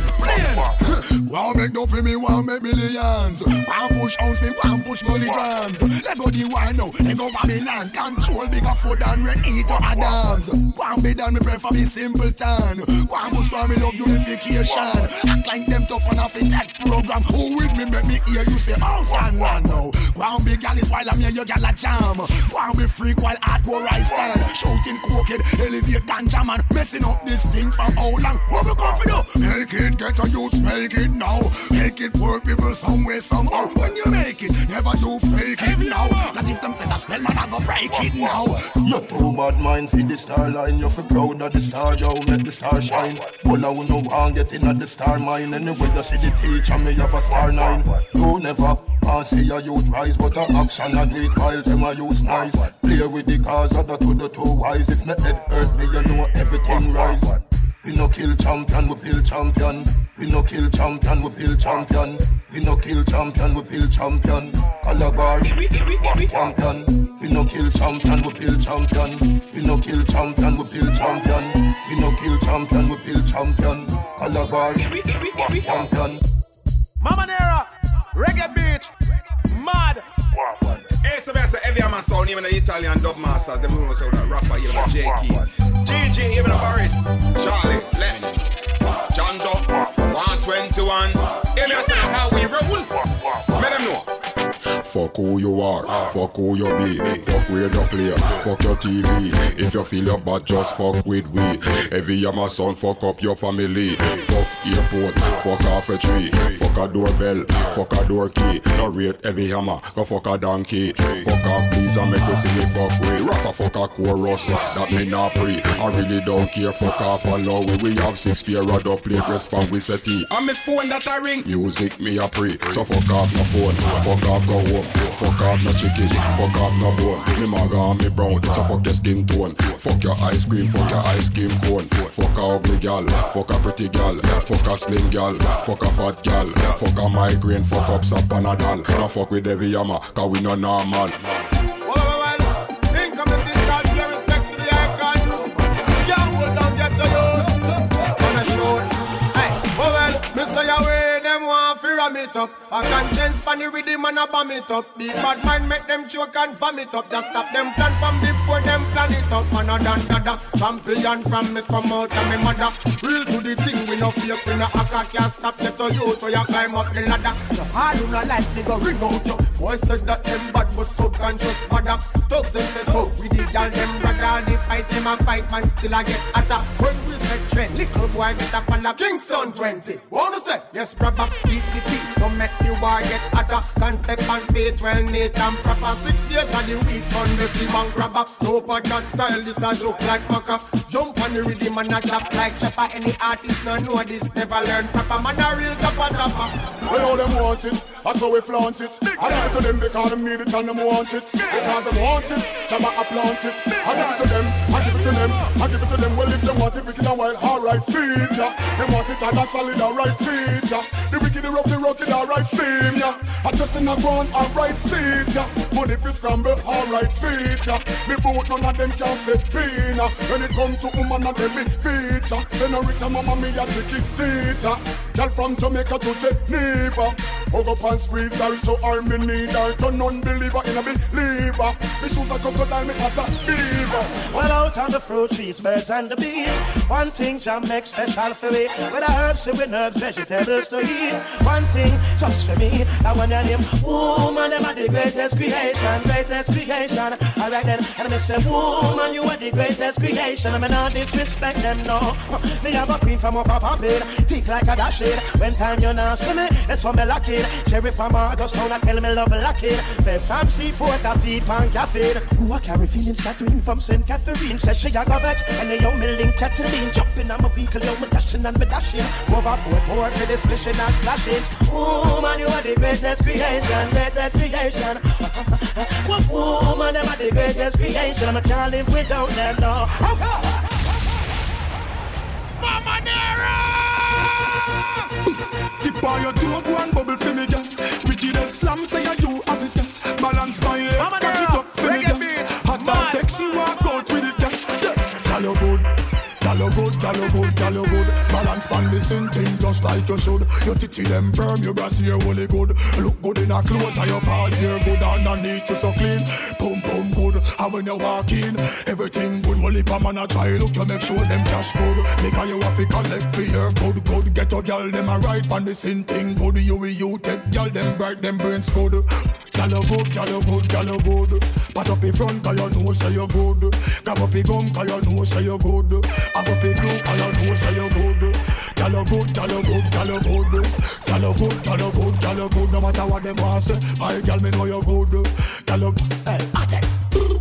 Speaker 21: Plain. Wow make no pay me, wow make millions. Wow push ounce me, wow push milligrams. Let go the wine now, let go Babylon. Control bigger food than we eat or Adams. Wow be done me prefer me simpleton. Wow push for me love unification. Act like them tough on a fit that program. Who with me make me hear you say ounce and one now. Wow big gal is while I'm here, you gal a jam. Wow be freak while hardcore I stand. Shouting cokehead, elevate ganja man. Messing up this thing for how long? What we come for do? Make it get a youth, make it now. Make it poor people somewhere, somehow. When you make it, never do fake it now. Cause if them say that spell, man, I go break it now.
Speaker 16: You too bad mind feed the star line. You feel proud of the star, yo, let the star shine. Well, I will no one get in at the star mine. Anyway, you see the teacher, me have a star nine. You never can't see a youth rise, but a action and weak while them a use nice. Play with the cars, other to the two wise. If my head hurt me, you know everything rise. We no kill champion, we build champion. We no kill champion, we build champion. We no kill champion, we build champion. Calabar, champion. We no kill champion, we build champion. We no kill champion, we build champion. We no kill champion, we build champion. Calabar, champion.
Speaker 4: Mama Nera, reggae beat, mad.
Speaker 5: Hey, so that's every man sound, even the Italian dub masters, them who know that rapper, even the J Key. G G, even the Boris, Charlie, Let, John Joe, one twenty-one. Hey, me say how we roll. Let them know.
Speaker 15: Fuck who you are, fuck who you be, fuck where you play, fuck your T V. If you feel your bad, just fuck with we. Every yama son, fuck up your family. Fuck airport, fuck off a tree, fuck a doorbell, fuck a door key. No rate every hammer, go fuck a donkey. Fuck off please and make you see me fuck with. Rafa fuck a chorus, that me not pre. I really don't care, fuck off allow we. We have six pair of up plate, respond we set it.
Speaker 5: On my phone that I ring.
Speaker 15: Music me a pre, so fuck off my phone, fuck off go home. Fuck off no chickies, fuck off no bone. Me maga and me brown, so fuck your skin tone. Fuck your ice cream, fuck your ice cream cone. Fuck a ugly gal, fuck a pretty gal. Fuck a slim gal, fuck a fat gal. Fuck a migraine, fuck up some Panadol. Now fuck with every yama, cause we no normal.
Speaker 2: Ram it up, a conscience funny with him and a bomb it up. Big bad mind make them choke and vomit up. Just stop them plan from before them plan it up. Man a dan dada, champion from me come out of me mother. Real to the thing, we no fake, we no hacker. Can't stop get to you, so you climb up the ladder. So hard you no like me go ring out you. Boys said that them bad but subconscious mother. Thugs them say so, we the girl them brother. They fight them a fight, man still a get hotter. When we set trend, little boy get a follow. Kingston twenty, wanna say? Yes brother, keep the peace, don't make the war get hotter. Can't step on faith, well neat and proper. Six days of the week, Sunday free man grab up. So for that style, this a joke like Maka. Jump on the rhythm and a clap like Chopper. Any artist no know this, never learn proper. Man a real topper topper.
Speaker 21: Well all them want it, that's how we flaunt it. I give it to them because them need it and them want it. Because them want it, Shabba a plant it. I give it to them, I give it to them, I give it to them. Well if they want it, wicked and wild, alright, see ya. They want it and a solid, alright, see ya. The wicked, the rough, the rugged, alright, see ya. I just in a ground, alright, see ya. Money fi scramble, alright, see ya. Me boot, none of them can step in. When it comes to woman and them big feature. Senorita mama me a chicky teacher. Girl from Jamaica to Geneva. Hug up and squeeze her, show her me need her. Turn unbeliever in a believer. Me shoes a crocodile, me at a fever.
Speaker 14: Well out on the fruit trees, birds and the bees. One thing Jam make special for me. With the herbs, with herbs, vegetables to eat. One thing just for me. That one your name, woman, them are the greatest creation, greatest creation. Alright then, and I say, woman, you are the greatest creation. I mean, not disrespect them, no. Me have a queen from up a bed, thick like a dash it. When time you not see me, that's for me lucky. Cherry from Augustown, I tell me love lucky. Bed from seafood, I feed from cafe. Who I carry feelings, Catherine from Saint Catherine. Says she a go vex, and the young me link Catherine. Jumping on my vehicle, young me dashing and me dashing. Overboard, board for the splishing and splashes. Woman, you are the greatest creation, greatest creation. Woman, them are the greatest creation. I can't live without them, no.
Speaker 21: Mama Nera!
Speaker 2: Tip on your toe, go and bubble for me, girl. Wickedest slam, say you do have it, girl. Balance my head, catch it up for me, girl. Hot and sexy, walk out with it, girl. Girl, you good. Girl, you good, girl, you good, girl, you good. Balance pan the same thing just like you should. Your titty them firm, your brass here really good. Look good in her clothes and your falls here good. Underneath you so clean, boom, boom, good. And when you walk in, everything good. Well, if a man a try, look, you make sure them cash good. Make a you have to collect for your good, good. Get your girl, them a right pan the same thing good. You with you take girl, them bright, them brains good. Girl, you good, girl, you good, girl, you good. Pat up in front, cause you know say you good. Grab up your gum, cause you know say you good. Have up your glue, cause you know say you good. Girl, you good, girl, you good, girl, you good. Girl, you good, girl, you good, girl, you good. No matter what them want say, my girl, me know you good. Girl, you, hey, at it.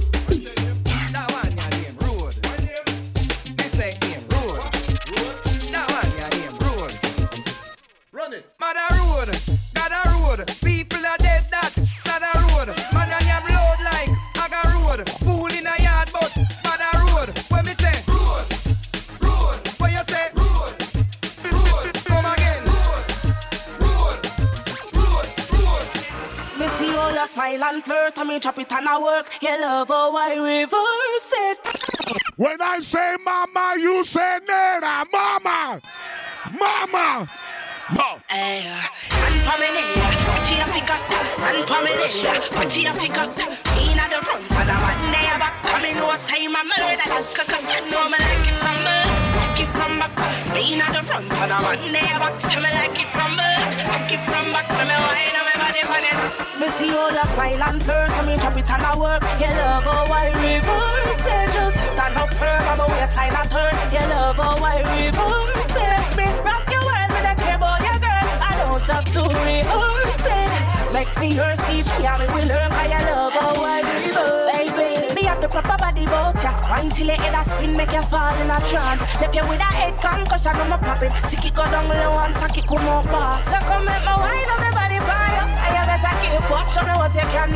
Speaker 9: That one your name road. This ain't name road. That one your name road.
Speaker 2: Run it.
Speaker 9: Mother road, got a road. People are dead that. Sad a road. Man and have load like Aga road. Fool in a yard but bad a road. When me say road, road. When you say road, road. Come again. Road, road, road, road.
Speaker 14: Me see all your smile and flirt and me chop it and I work. You love how I reverse it.
Speaker 21: When I say mama, you say nena, mama, mama. No.
Speaker 14: Hey, and for me there, what you pick up? And for me there, what you pick up? In at the front, for the one day back. Come in, no time, I'm murder. You know me like it from birth, like it from back. In at the front, for the one day back. Tell me like it from birth, like it from back. When me wine on my body, for it. Me see all your smile and flirt, and me chop it and I work. You love how I reverse it. Just stand up firm, I'm a waistline and turn. You love how I reverse it. Me rock your world with a cable. Don't have to rehearse it. Make me yours, teach me how we will learn. Cause you love how I reverse. Baby, me have the proper body bout ya. Wine till your head a spin, make you fall in a trance. Left you with a head concussion, I'm a pop it. Tick it go down low and tack it come up back. So come make my wine on my body by you. And you better keep up, show me what you can do.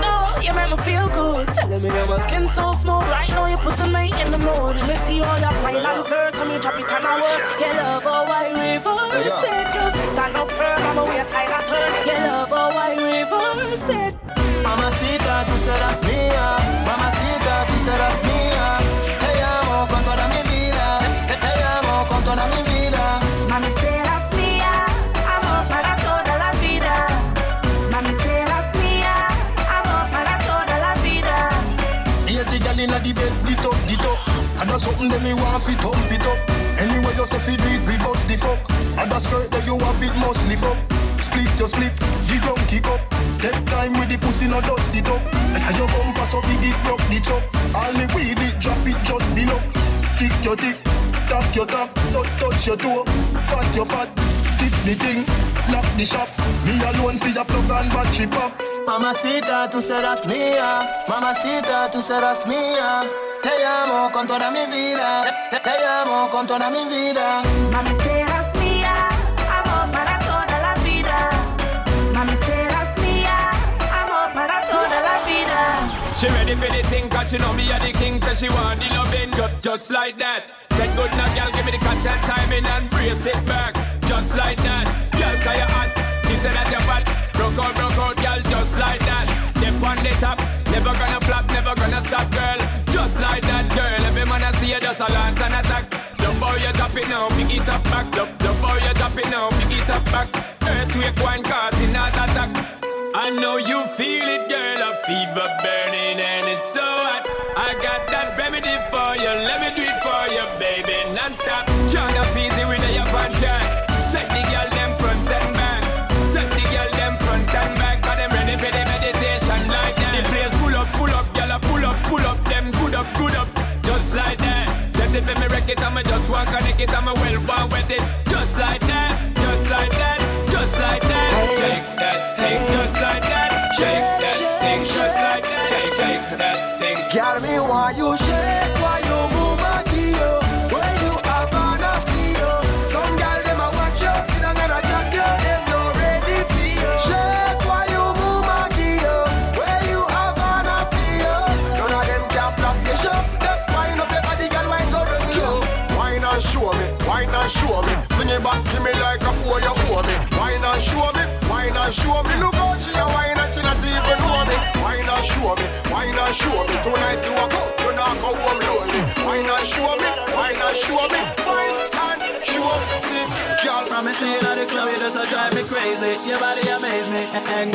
Speaker 3: you make me feel good. Telling me that my skin so smooth. Right now you putting me in the mood. Let me see all your smile and flirt. Come you drop it on a word. You love how I reverse it. You stand up firm, I'm a waistline a turn. You love how I reverse it.
Speaker 7: Mamacita, tú serás mía. Mamacita, tú serás mía. Te amo con toda mi vida. Te amo con toda mi vida.
Speaker 3: Mami, serás mía. Amor para toda la vida. Mami, serás mía. Amor para toda la vida.
Speaker 10: Yes, the girl inna the bed, get up, get up. And that's something that me want fi thump it up. Anyway, you say fi do it, we bust the fuck. And that skirt that you have it must lift up. Split, you split, the ground kick up. Take time with the pussy, no dust it up. And your bumper so big it broke the chop. All me weed it, drop it just below. Tick your tick, tap your tap, touch touch your toe. Fat your fat, tick the thing, knock the shop. Me alone for your plug and battery pop.
Speaker 7: Mamacita, tú serás mía. Mamacita, tú serás mía. Te amo con toda mi vida. Te, te amo con toda mi vida.
Speaker 3: Mami, serás mía. Amor para toda la vida. Mami, serás mía. Amor para toda la vida.
Speaker 1: She ready for the thing, cause she know me a the king. Said she want the loving, just, just like that. Said good now, girl, give me the catch and timing and brace it back. Just like that. Girl, cause you hot. She said that you're fat. Broke out, broke out, girl, just like that. Step on the top, never gonna flop, never gonna stop, girl. Just like that, girl. Every man I see you just a launch and attack. Love how you drop it now, pick it up back. Love, love how you drop it now, pick it up back. Earthquake one cause in not attack. I know you feel it, girl. A fever burning and it's so hot. I got that remedy for you. Let me do it for you, baby, non-stop. Trying to easy with the up and chat. Check the girl them front and back. Check the girl them front and back. Cause them ready for the meditation like that. The place full up, full up, girl. Pull up, pull up, them good up, good up. Just like that. Set it for me wreck it, I'ma just want connect it, I'ma well want with it. Just like that, just like that, just like that. Shake that thing, just like that. Shake that thing, just like that. Shake, shake that thing.
Speaker 7: Girl, me why you shake, why you move my deal? Where you have on a feel? Some girl them a watch you, sit down and a chat you, them no ready for you. Shake, why you move my deal? Where you have on a feel? None of them can flop the shop. Just wind up your body, girl, wind go run you.
Speaker 10: Wine and show me, wine and show me. Bring it back to me like a boy you owe me. Wine and show me, wine and show me. Look how she a wine and she not even know me. Wine and show me, wine and show me. Tonight you a go, you not go home lonely. Wine and show me, wine and show me. Wine and show me. Girl,
Speaker 7: promise you at the club, you just a drive me crazy. Your body amaze me, and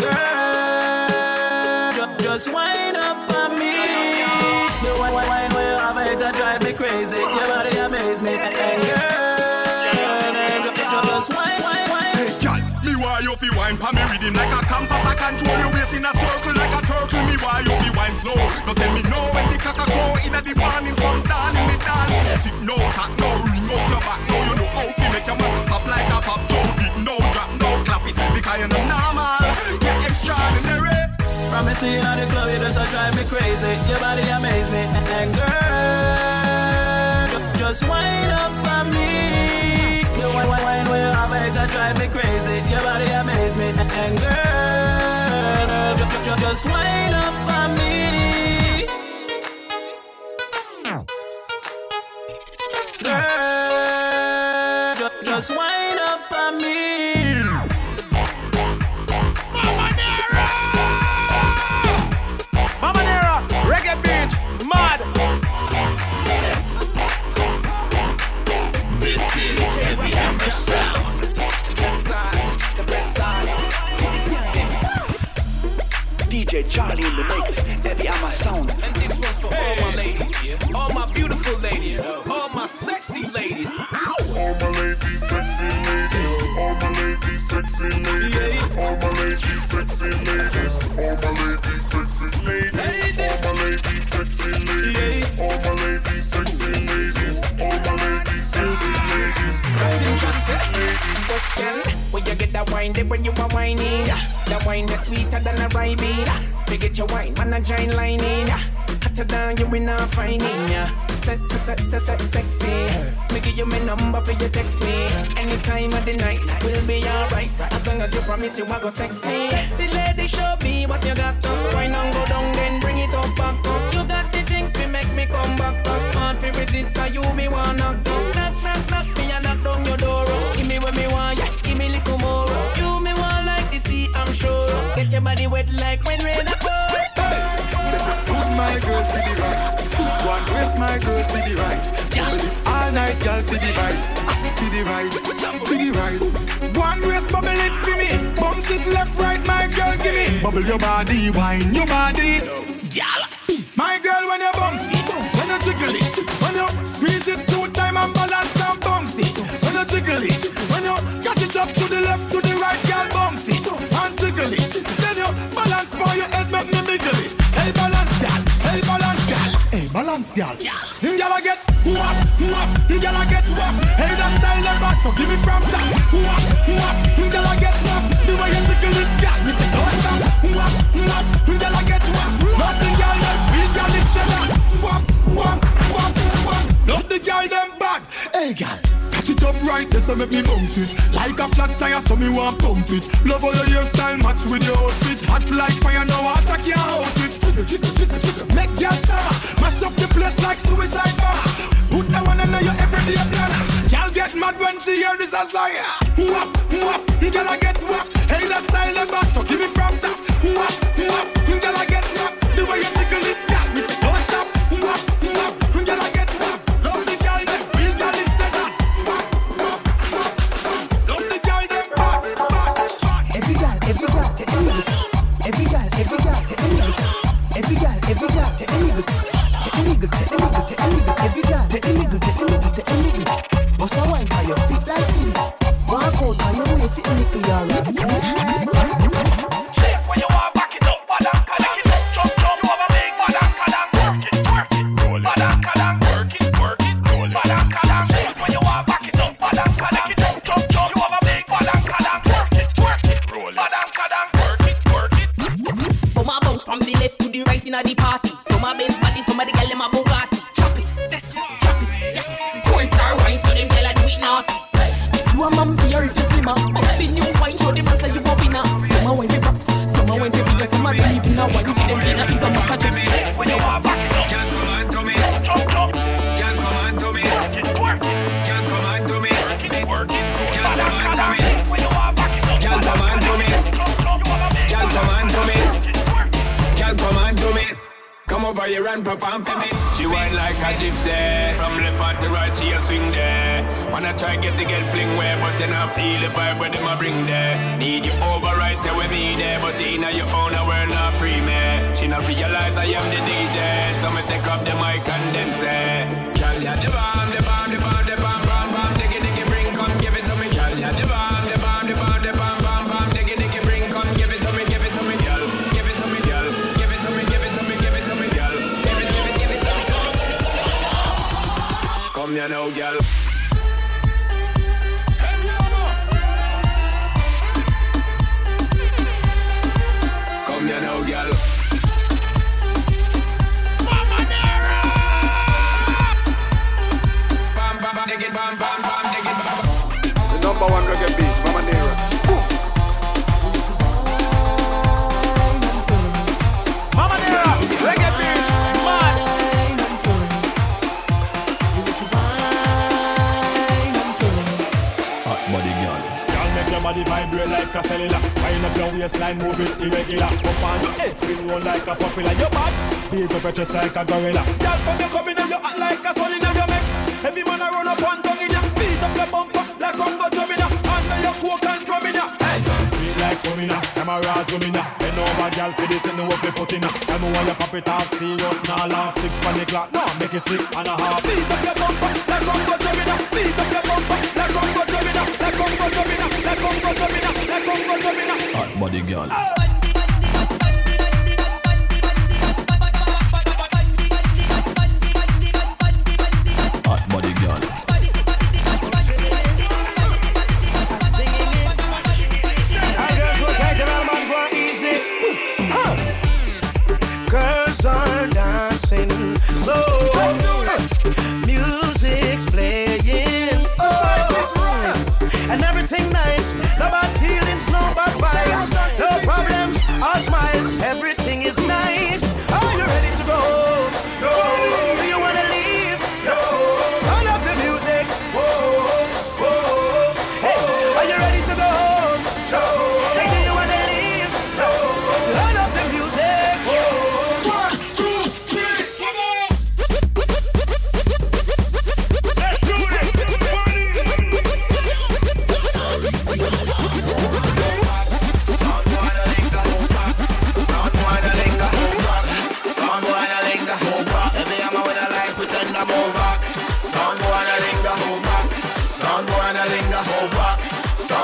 Speaker 7: girl, ju- just wind up on me. The wine, wine, wine, where you have it, that drive me crazy. Your body amaze me, and girl, just wine, wine, wine.
Speaker 21: Hey, girl, me why you fi wine pa me rhythm like a compass. I control your waist in a circle like a turtle. Me why you fi wine slow. No tell me no when the cock a crow inna the morning. Some down in the dance. Sit no, tack no, ring out your back. No, you know how to make your man pop like a pop. Joe beat no drop, no clap it because you're not normal. You're extraordinary.
Speaker 7: Promise you at the club, you just a drive me crazy. Your body amaze me, and girl, ju- just wind up on me. You wine, wine, wine, where you have it, that drive me crazy. Your body amaze me, and girl, ju- ju- just wind up on me. Girl, ju- just wind up on me.
Speaker 4: Mama Nera, Reggae Beach, mad.
Speaker 6: This is Heavy Hammer Sound.
Speaker 18: The best side. D J Charlie in the mix. Heavy Hammer Sound.
Speaker 9: And this one's for all my ladies, all my beautiful ladies, all my sexy ladies.
Speaker 21: All my ladies, sexy ladies. All my ladies, sexy ladies. All my ladies, sexy ladies. All my ladies, sexy ladies. All my ladies, sexy ladies. All my ladies, sexy ladies. All my ladies, sexy ladies.
Speaker 17: What's that? When you get that wine, then when you are whining, that wine is sweeter than a rye bean. Me get your wine, man, a giant lining. Hotter than you in a finding. Sex, sex, sex, sex, sexy. Me give you my number for you text me. Any time of the night, we'll be alright. As long as you promise you are gonna sex me. Sexy lady.
Speaker 3: ready, show me what you got. Why not go down, then bring it up back. You got the thing to make me come back. Hard for resist, so you me want knock down. Knock, knock, knock me and knock down your door. Give me what me want, yeah, give me little more. You me want like the sea, I'm sure. Get your body wet like when rain a pour.
Speaker 2: Put my girl to the right. One dress my girl to the right. All night girl to the right. To the right, to the right. One dress bubble it for me. Bounce it left, right, my girl give me. Bubble your body, wine your body. My girl when you bounce it, when you jiggle it, when you squeeze it two time and balance and bounce it. When you jiggle it, when you catch it up to the left, to the right, girl bounce it and jiggle it. Then you balance for your head, make me wiggle it. Hey balance girl, hey balance girl, hey balance girl. You gotta get whop, whop, you gotta get whop. Hey that style like that, so give me from that. Whop, whop, you gotta get whop. The way you jiggle it, girl, me say don't stop. Whop, whop, you gotta get whop. Nothing girl like real girl is that. Whop, whop, whop, whop. Love the girl them bad. Hey girl. Catch it up right, this will make me bounce it. Like a flat tire, so me want pump it. Love all your hairstyle, match with your outfit. Hot like fire, no water can't hold it. Chicka, chicka, chicka, chicka. Make your star, mash up the place like suicide bar. Put that one on your everyday plan. Y'all get mad when she hear this as I am. Whop, whop, you gotta get whop. Hey, that style and back, so give me from top. Whop, whop, you gotta get whop. The way you tickle it, girl, me say don't stop. Whop, whop, you gotta get whop. Love the girl, them real girl is that.
Speaker 14: Every girl, every girl, take a nigga. Every girl, every girl, take a nigga. Every girl, every girl, take a nigga. Take a nigga, take a nigga, take a nigga. Every girl, take a nigga, take a nigga, take a nigga. Bust a wine for your feet like fin. Walk out for your waist, it nickel your right.
Speaker 13: Shake when you want back it up, badang kadang. Jump, jump over big badang kadang. Work it, work it, roll it. Badang kadang, work it, work it, roll it. Badang kadang. Shake when you want back it up, badang kadang. Jump, jump over big badang kadang. Work it, work it, roll it. Badang kadang, work it, work it.
Speaker 3: Bum a bounce from the left to the right inna the party. Some a Benz body, some a the gyal dem a Bugatti. Drop it, this, drop it, yes. Coins are wine, so them gyal a do it naughty. If you a man here, if you slimmer, bust the new wine, show them man say you bobby now. Some a wine for props, some a wine for videos, some a believe in a wine for them dinner in the market. Just when you want back it up, can't come on to me. Jump, jump, can't come on to me. Work it, work it, can't come on to me. Work it, work it, can't come on to me. When you want back it up, can't come on to me. Can't come on to me. Can't come on to me. Come over here and perform for me.
Speaker 1: She whine like a gypsy. From left hand to right, she a swing there. Wanna try get to get fling where, but you not feel the vibe where them a bring there. Need you over right there with me there, but in your own a world not free me. She not realize I am the D J, so me take up the mic and then say, girl, ya the bomb, the bomb, the bomb, the bomb, bomb, bomb, diggy diggy bring, come give it to me, girl, ya the bomb, the bomb, the bomb, the bomb, bomb, bomb, diggy diggy bring, come give it to me, give it to me, girl, give it to me, girl, give it to me, give it to me, give it to me, girl, give it, give it, give it, give it, give it, give it, give it. Come here now, girl. Come here now, girl. Mama Nera! Bam, bam, bam, dig it, bam, bam, bam, dig it, bam.
Speaker 4: The number one reggae beat, Mama Nera. Mama Nera, reggae beat, mad.
Speaker 2: Hot body girl. Girl, make your body vibrate like a cellular. Wind up your waistline, move it irregular. Up on your head, spin roll like a popular. Your back, beat up your chest like a gorilla. Girl, when you come in, you act like a soul in your neck. Every man a run up one tongue in ya. Beat up your bumper like Congo drumming ya. Under your coke and drumming ya. Hey, feel like coming ya. Camera zooming ya. Bend over, girl, for this and the work we put in ya. I'm want you pop it off, serious, now laugh. Six panic clock, no, make it six and a half. Beat up your bumper like Congo drumming ya. Beat up your bumper like Congo drumming ya. Like Congo drumming ya. Like Congo drumming ya. Like Congo drumming ya. Hot body girl. Hot body girl.
Speaker 14: Girls are dancing slow. Music's playing. Oh, and everything nice. No bad feelings, no bad vibes. No problem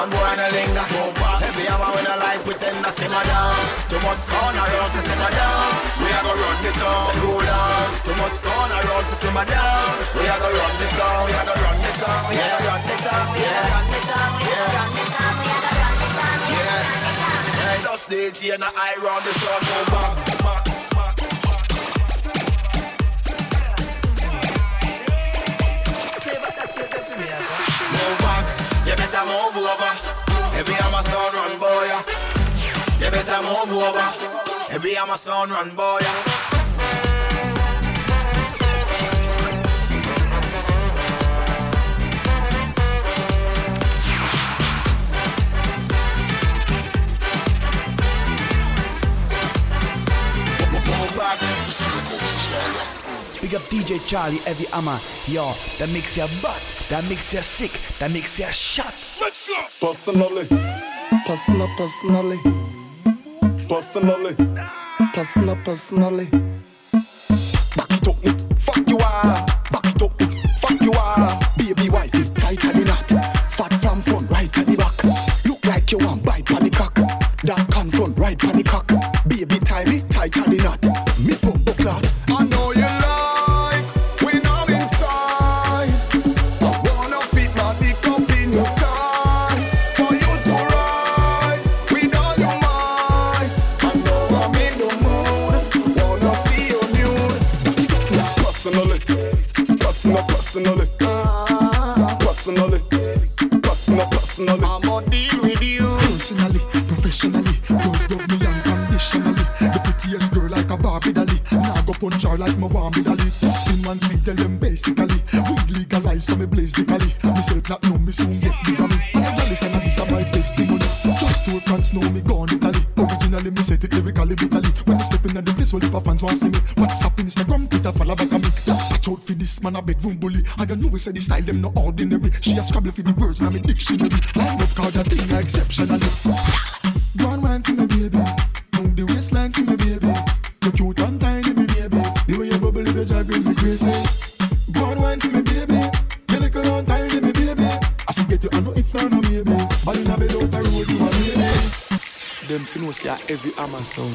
Speaker 12: sound boy and a linger. Heavy hammer when I like pretend I simmer down. Too much sound around to simmer down. We a go run the town. Say cool down. Too much sound around to simmer down. We a go run the town. We a go run the town. We a go run the town. We a go run the town. We a go run the town. We a go run the town. Yeah. Hey, just D J and I round the sun. Go back, back. Move back, you better move over. Every I'm a sound run boy. You better move over. Every I'm a sound run boy. Move back.
Speaker 22: Big up D J Charlie, Heavy Hammer. Yo, that makes you butt, that makes you sick, that makes you shot.
Speaker 13: Let's go.
Speaker 10: Personally, personal, personally, personally, personal, personally. Back it up, fuck you are. Back it up, fuck you are. Baby wife, tight and knot. Fat from front, right at the back. Look like you want bite on the cock. Dark can front, right on the cock. Baby tie me tight at the knot. Me pump the clot. I know you like when I'm inside. I wanna fit my dick up in your tight for you to ride with all your might. I know I'm in the mood, wanna see you nude. Personally, personal, personally, personally, personal, personally. I'ma deal with you personally, professionally. Girls love me unconditionally. The prettiest girl like a Barbie dolly. Now go punch her like my Barbie dolly. Spin one tweet, tell them basically. Weed legalize, so me blaze the cali. Me self not know me soon get big on me. And I listen and this is my testimony. Just two friends know me gone Italy. Originally me set it lyrically, bitally. When me step in at the place, all the fans want see me. WhatsApp, Instagram, Twitter, follow back on me. Watch out for this man, a bedroom bully. I got know we say the style them no ordinary. She a scrabble for the words in my dictionary. Line up card that thing exceptionally. Go on wine for me baby. Move the waistline for me baby. You cute and tiny me baby. The way you bubble is driving me crazy. Go on wine for me baby. You little and tiny me baby. I forget you I know if not no maybe. But in a bed out the road you a baby. Them finos ya every Amazon.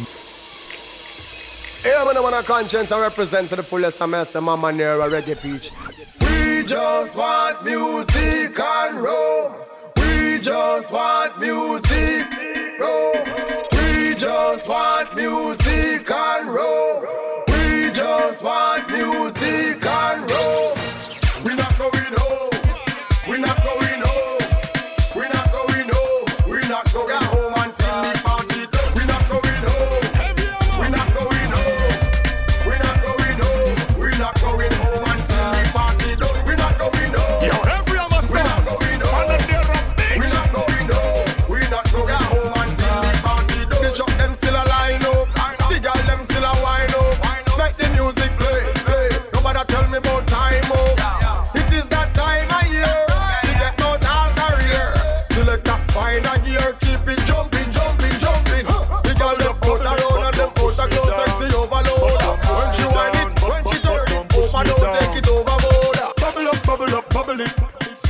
Speaker 23: Hey, I'm the one of conscience I represent to the fullest of mess. Mama near a reggae beach. We just want music and roam. We just want music, roam. We just want music and roam. We just want music and roam. We not going home. We not going home. We not going home. We not going home until the party done. We not going home. We not going home. We not going home. We not going home until the party done. We not going home.
Speaker 13: Yo, every other song.
Speaker 23: We not going home. We not going home. We not going home until the party done. The truck them still a line up. The girl them still a wine up. Make the music play, play. Nobody tell me about time up. It is that time of year to get out all career. Select that fine a gear, keep it jumping, jumping, jumping. The girl them out around and them out a close sexy overload. When she whine it, when she turn it, overload, take it overboard.
Speaker 10: Bubble up, bubble up, bubble it.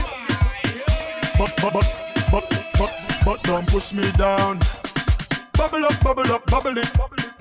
Speaker 10: But, but, but, but, but, but don't push me down. Bubble up, bubble up, bubble it.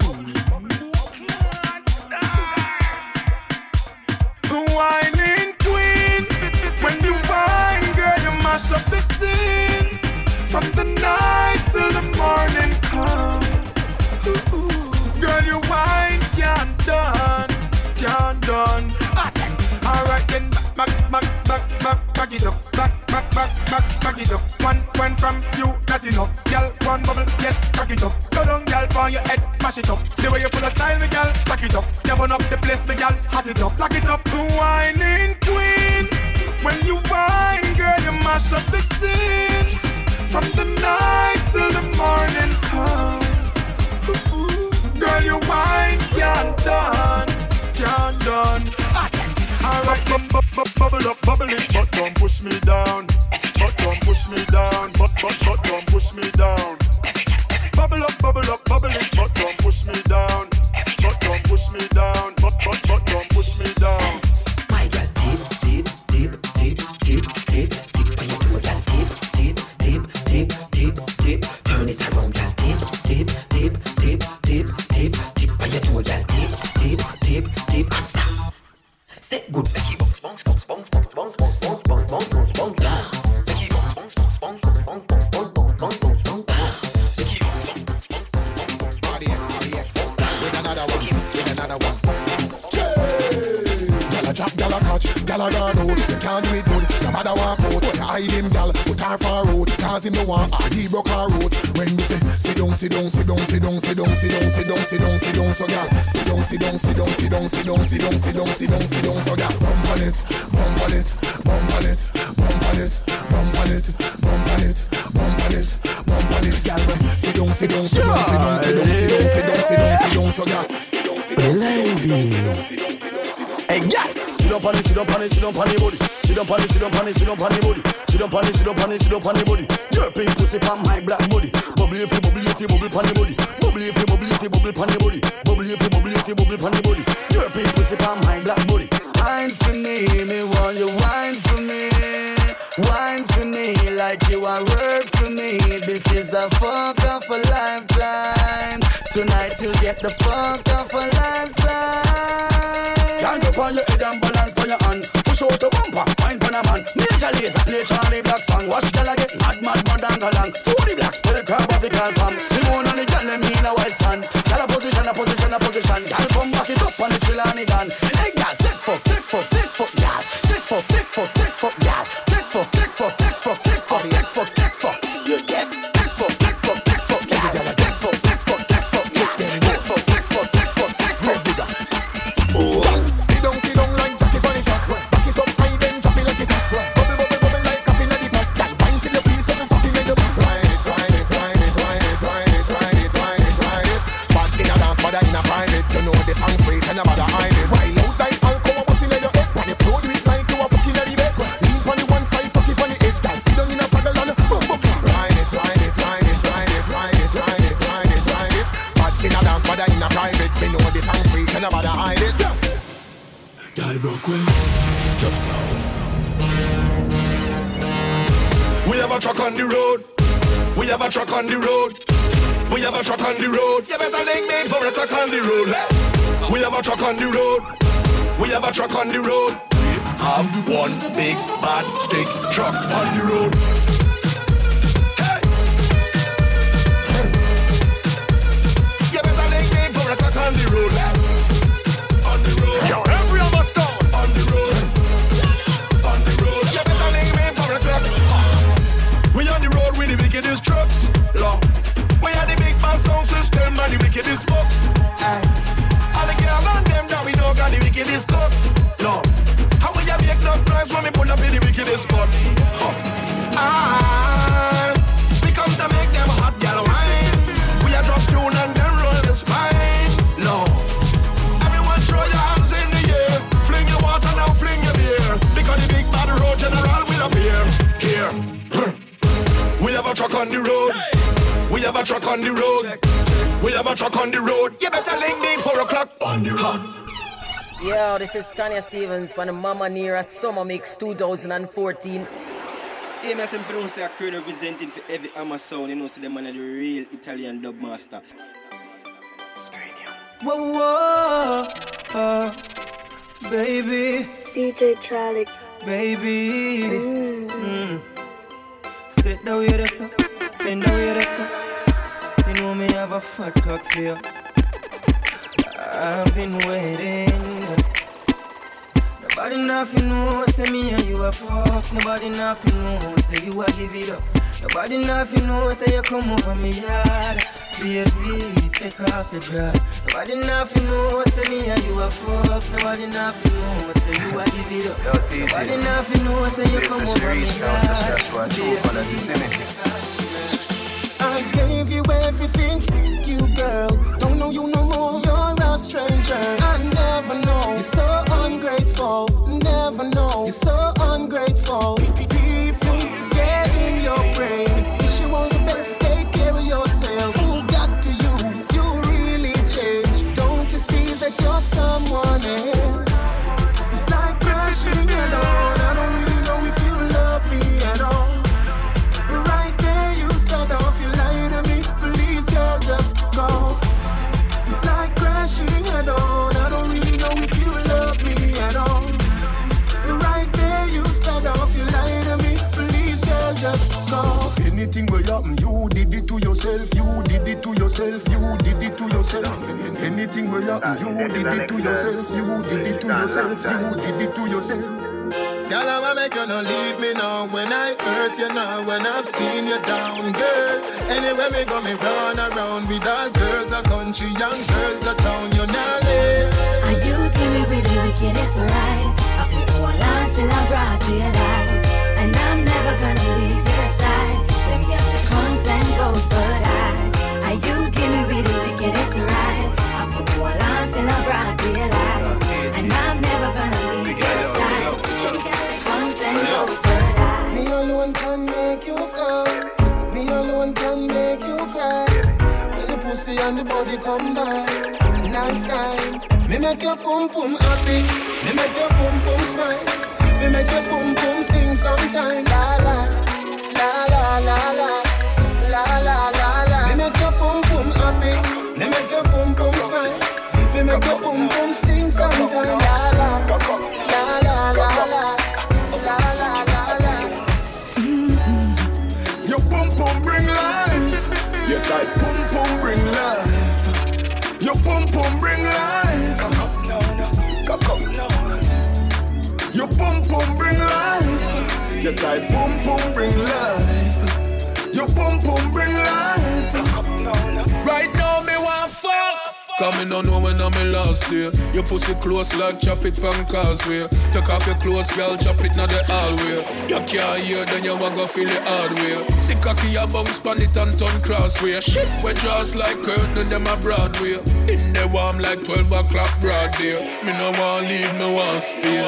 Speaker 10: Whining queen, when you whine, girl, you mash up the scene. From the night till the morning come. Ooh, ooh. Girl, you whine, can't done, can't done. Alright then, back, back, back, back, back it up. Back, back, back, back, back it up. One, one from you, that's enough. Girl, one bubble, yes, back it up. Go down, girl, on your head, mash it up. The way you full of style, me girl, stack it up. You burn up the place, me girl, hot it up, lock it up. Whining queen, when you whine, girl, you mash up the scene. From the night till the morning come. Ooh, ooh. Girl, you whine, can't done, can't done. Alright, bu- bu- bu- bubble up, bubble it, but don't push me down. But don't push me down. But but but don't push me down. Bubble up, bubble up, bubble it, but don't push me down. But don't push me down. But but but don't push me down.
Speaker 22: My girl, deep, deep, deep, deep, deep, deep, deep on your toe, girl, deep, deep, deep, deep.
Speaker 21: bag her out. If you can't do it good, your mother walk out. You hide him, gal, put her far out. Cause him no want her, he broke her out. When we say, sit down, sit down, sit down, sit down, sit down, sit down, sit down, sit down, sit down, so gal. Sit down, sit down, sit down, sit down, sit down, sit down, sit down, sit down, sit down, so gal. Bump on it, bump on it, bump on it, bump on it, bump on it, bump on it, bump on it, bump on it, gal. Sit down, sit down, sit down, sit down, sit down, sit down, sit down, sit down, sit down, so gal. Sit down, sit down, sit down, sit down, sit down, sit down, sit down. Hey, gal. Sit down, pon it, sit down, pon it, sit down, pon it, body. Sit down, pon it, sit down, pon it, sit down, pon it, body. Sit down, pon it, sit down, pon it, sit down, pon it, body. Your pink pussy pon my black body. Bubble if you bubble if you bubble pon the body. Bubble if you bubble if you bubble pon the body. Bubble if you bubble if you bubble pon the body. Your pink pussy pon my black body. Wine for me, me want you wine for me. Wine for me like you are work for me. This is the fuck of a lifetime. Tonight you'll get the fuck of a lifetime. Can't up on your head and balance by your hands. Push out the bumper, wine for a man. Nature laser, play Charlie Black song. Watch the get mad, mad, mad and galang. Story blacks, to the crowd of the car pump. Simone and the gal, them in a white sand. Gal a position, a position, a position. Gal come back it up on the chill and the gun. Hey gal, take fuck, take fuck, take fuck, gal. Take fuck, take fuck, take fuck, gal. Take fuck, take fuck, take fuck, take fuck, take fuck, take fuck. You get take fuck, take fuck, take fuck, gal. Take fuck, take fuck, take fuck, gal. Take fuck, take fuck, take fuck, take fuck, bigger. Sit down, sit down like Jackie Bunny Chuck. Back it up high, then chop it like it hot. Bubble, bubble, bubble like coffee in the pot. Gal, wine till you feel something popping in your back. Ride it, ride it, ride it, ride it, ride it, ride it, ride it, ride it. Bad in a dance, bad in a private. You know the song sweet and a bad hide it. Wild out like alcohol, bust in your head. On the floor, do it like you are fucking in the bed. Lean on the one side, tuck it on the edge. Gal, sit down in a saddle and boom, boom. Ride it, ride it, ride it, ride it, ride it, ride it, ride it, ride it. Bad in a dance, bad in a private. Me know the song sweet and a bad hide it. I broke well just now. We have a truck on the road. We have a truck on the road. We have a truck on the road. You better link me for a truck on the road. We have a truck on the road. We have a truck on the road. We have one big bad stick truck on the road. Hey. You better link me for a truck on the road. On the road. Yo, every other sound on the road. On the road. You better link me for a truck. We on the road with the wickedest trucks. Long. We are the big band sound system and the wickedest box. Aye. All the girls and them that we know got the wickedest cuts. No. How will you make enough noise when we pull up in the wickedest spots? Huh. Ah, we come to make them hot girl wine. We are drop tune and then roll the spine. No. Everyone throw your hands in the air. Fling your water now, fling your beer. Because the big bad road general will appear. Here. We have a truck on the road. Hey. We have a truck on the road. We have a truck on the road. You better link me four o'clock on the road.
Speaker 8: Yo, this is Tanya Stevens from the Mama Nera Summer Mix twenty fourteen.
Speaker 11: Hey, me say from say a crew representing for every Hammer sound. You know, see them man are the real Italian dub master.
Speaker 3: Whoa, whoa, uh, baby.
Speaker 19: D J Charlie.
Speaker 3: Baby. Mm. Mm. Sit down here, sir. Bend down here, sir. You know me have a fat cock for you. I've been waiting. Nobody nothing knows, say me and you a fuck. Nobody nothing knows, say you a give it up. Nobody nothing knows, say you come over me yard. Baby, take off your dress. Nobody nothing knows, say me and you a fuck. Nobody nothing knows, say you a give it up. Nobody nothing knows, say you come over me yard.
Speaker 21: I gave you everything, f*** you girl. Don't know you no more, you're a stranger. I never know, you're so ungrateful. Never know, you're so ungrateful. People get in your brain. Wish you all the best, take care of yourself. Who got to you? You really changed. Don't you see that you're someone else? It's like crashing alone. I don't really know if you love me at all. Right there, you start off, you lie to me. Please, girl, just go. It's like crashing head on. I don't really know if you love me at all. Right there, you start off, you lie to me. Please, girl, just go. Anything will happen, you did it to yourself. You did it to yourself. You did it to yourself. Anything will happen, you did it to yourself. You did it to yourself. You did it to yourself.
Speaker 2: Girl, I wanna make you not leave me now. When I hurt you now, when I've seen you down, girl. Anywhere me go, me run around with all girls a country, young girls a town. You not live.
Speaker 16: And you give me with the wickedest right. I put hold on till I'm brought to your life. And I'm never gonna leave your side. Them get the comes and goes, but I, I you give me with the wickedest right. I put hold on till I'm brought to your life. And I'm never gonna leave your side. Them get the comes and goes, but I.
Speaker 10: Me alone can make you come. Me alone can make you cry. When the pussy and the body come back, nice time. Me make your pum pum happy. Me make your pum pum smile. Me make your pum pum sing sometime. La la, la la la la, la la la la. Me make your pum pum happy. Me make your pum pum smile. Me make your pum pum sing sometime. La la, la la la la, la la la la.
Speaker 2: Your pum pum bring life. Your tight pum pum bring life. Your pum pum bring life. Come, come. Your pum pum bring life. Your tight pum pum bring life. Your pum pum bring life.
Speaker 5: Right now me want fuck. Coming on know when I'm in last day. Your pussy close like traffic from causeway. Take off your clothes, girl, chop it now the hallway. You can't hear, then you want go feel the hard way. See cocky a bounce pan it and turn crossway. Shift with jaws like curtain, them a Broadway. In the warm like twelve o'clock broad day. Me no want leave, me want stay.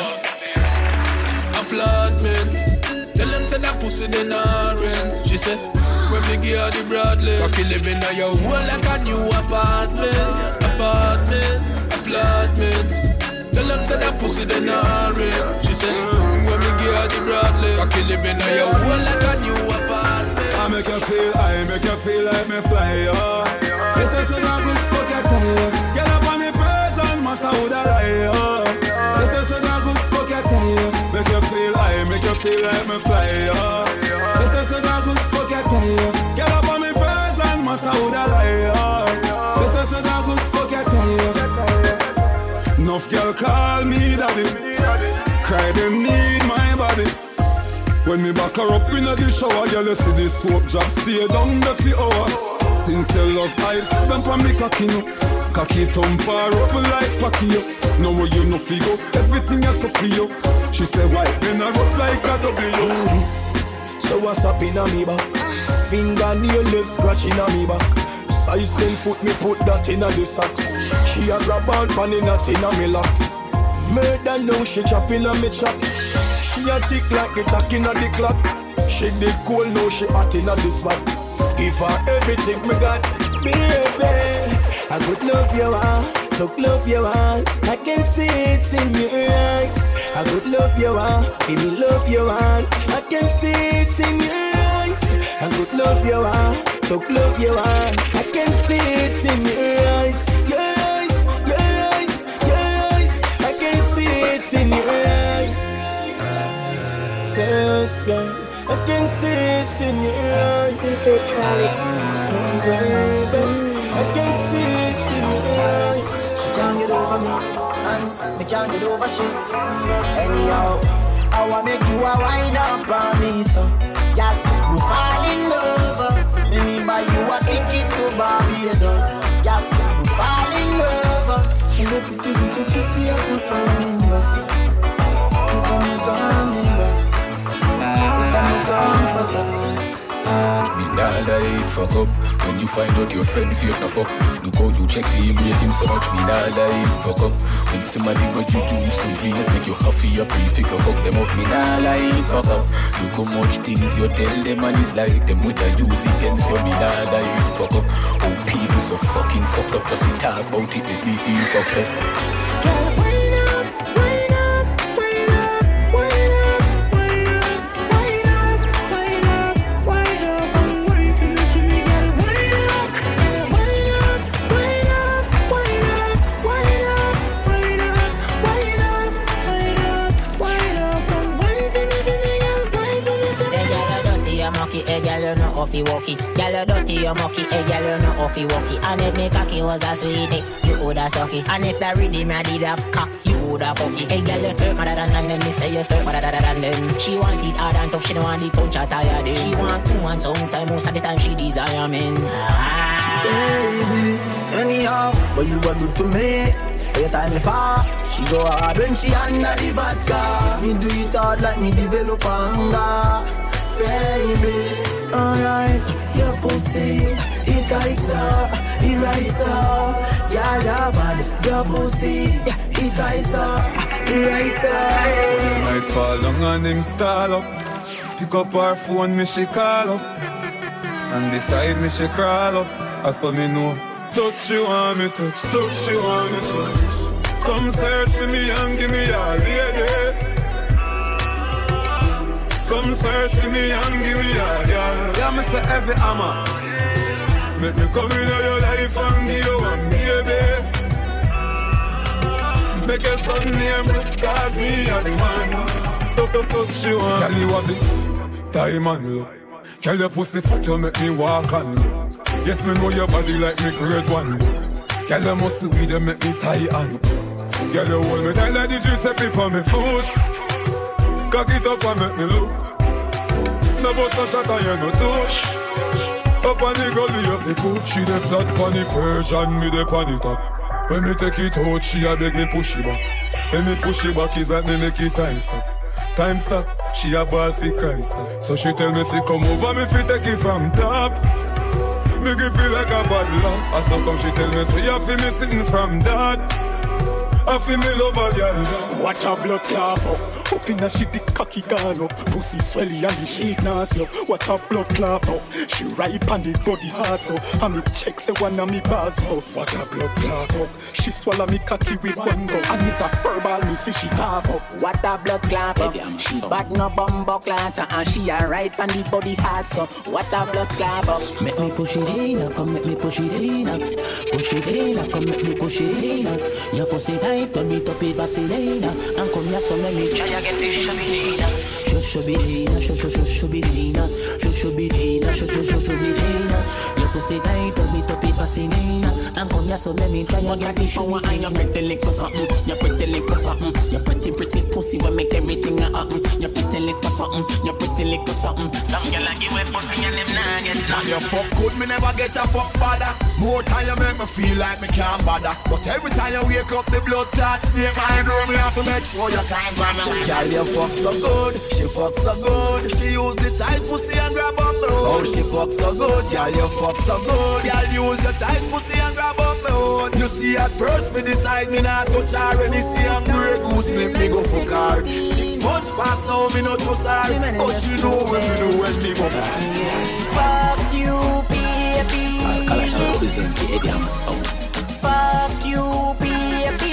Speaker 5: Applaudment. Tell them say that pussy they not rent. She said, when me give her the Bradley. Cocky living in your hole like a new apartment. Apartment, applaudment. Tell them say that pussy they not rent. She said, when me give her the Bradley. Cocky living in your hole like a new apartment.
Speaker 15: I make you feel, I make you feel like me fly, oh. It is a good fuck your tail. Get up on the person, master who the lie, oh. It is a good fuck your tail. Make you feel, I make you feel like me fly, oh. It is a good fuck your tail. Get up on me person, master who the lie, oh. It is a good fuck your tail. Enough girl call me daddy. Cry them need my body. When me back her up in the shower, girl, you see this soap drop stay down the few hours. Since you love ice, them pa me cocky no. Cocky thump her up like Pacquiao. Now where you no figure, everything is so for you. She said why, then I up like a W.
Speaker 19: Mm-hmm. So what's up in a me back? Fingernail left scratching a me back. Size ten foot me put that in a the socks. She a grab on pan in a tin a me locks. Murder now she chopping a me chop. She a tick like the tack inna the clock. She did cool, now she hot inna the spot. Give her everything me got, baby. I could love you want, talk love you want. I can see it in your eyes. I could love you want, feel me love you want. I can see it in your eyes. I could love you want, talk love you want. I can see it in your eyes, your eyes, your eyes, your eyes. I can see it in your eyes. Yes, girl, I can see it in your eyes. D J Charlie, oh, baby, I can see it in your eyes.
Speaker 20: She can't get over me, and me can't get over she. Anyhow, I wanna make you a wind up on me, so girl, we fall in love. Me mean by you a ticket to Barbados. Girl, we fall in love. And the pretty little pussy I put on me, you come coming back.
Speaker 18: Me nah die fuck up. When you find out your friend fake no fuck, look how you check for him, rate him so much. Me nah die fuck up. When somebody what you used to rate make you huffy up, pre-figure fuck them up. Me nah lie fuck up. Look how much things you tell them and it's like them with a use against you. Me nah die fuck up. Oh people so fucking fucked up, just we talk about it, make me feel fucked up.
Speaker 24: Hey girl, you know offy walkie. Girl, you dirty, you mucky. Hey girl, you know offy walkie. And if me cocky was a sweetie, you woulda suck it. And if the rhythm I did have cock, you woulda fuck it. Hey girl, you twerk madder than and then me say you twerk madder than them. She want it hard and tough, she don't want the punch or tired. She want two and sometime, most of the time she desire men. Ah.
Speaker 14: Baby, anyhow, what you want to do to me? Every time me fall, she go hard when she under the vodka. Me do it hard like me develop anger. Baby, alright, your pussy, it tights up, it rights up. Yeah, yeah, bad, your pussy, it tights up, it rights up.
Speaker 15: Might fall down and him stall up. Pick up her phone, me she call up. And beside me she crawl up. I saw me know. Touch she want me touch, touch she want me touch. Come search for me and give me all lady. Come search for me and give me all, girl. Yeah, me say every hammer. Make me come in your life and give you one baby. Make your son name Brooks, cause me and the man. Touch, touch, touch she want. Girl, you have the time and look. Girl, your pussy fat, you make me walk and look. Yes, me know your body like me grade one. Girl, you must be there, make me tie and girl, you hold me tight like the juice up on me foot. Cock it up and make me look. No bust a shot and you no touch. Up on the gully of the cook. She the flat on the Persian, me the pan it up. When me take it out, she a beg me push it back. When me push it back, is that me make it time stop. Time stop, she a ball for crime stop. So she tell me fi come over, me fi take it from top. Me give feel like a bad luck. As so come she tell me, so you feel me sitting from that. I feel me love a girl.
Speaker 19: What a blood clot up. Up in a shit the cocky gone up. Pussy swelly and the shit nasty up. What a blood clot up. She ripe and the body hard so. And me check say one of me bars house. What a blood clot up. She swallow me cocky with one go. And it's a verbal me see she cough up.
Speaker 24: What a blood clot up. She bad no bumbo clot and she a ripe and the body hard so. What a blood clot up.
Speaker 14: Make me push it in, come make me push it in. Push it in, come make me push it in. Your pussy tight, turn it up with Vaseline. And come here so let me try to get this shubidina. Shubidina, shubidina, shubidina, shubidina. Your pussy tight, turn it up with Vaseline. And come here so let me try to get this shubidina.
Speaker 24: You pretty little something, you pretty little something. You pretty pretty pussy will make everything happen. You pretty little something, you pretty little something. Some girl like you with pussy and them nah get none.
Speaker 12: You fuck good, me never get a fuck bother. More time you make me feel like me can't bother. But every time you wake up, the blood clot snake my door, me have to make sure you can't bother. Girl, you fuck so good, she fuck so good. She use the tight pussy and grab up the hood. Oh, she fuck so good, girl, you fuck so good. Girl, use your tight pussy and grab up the hood. You see at first me decide me not touch her. When you see I'm great goose, make me go fuck her. Six months past now, me not trust her. But you know what you do when me go back.
Speaker 24: Fuck you, baby. Fuck you, baby.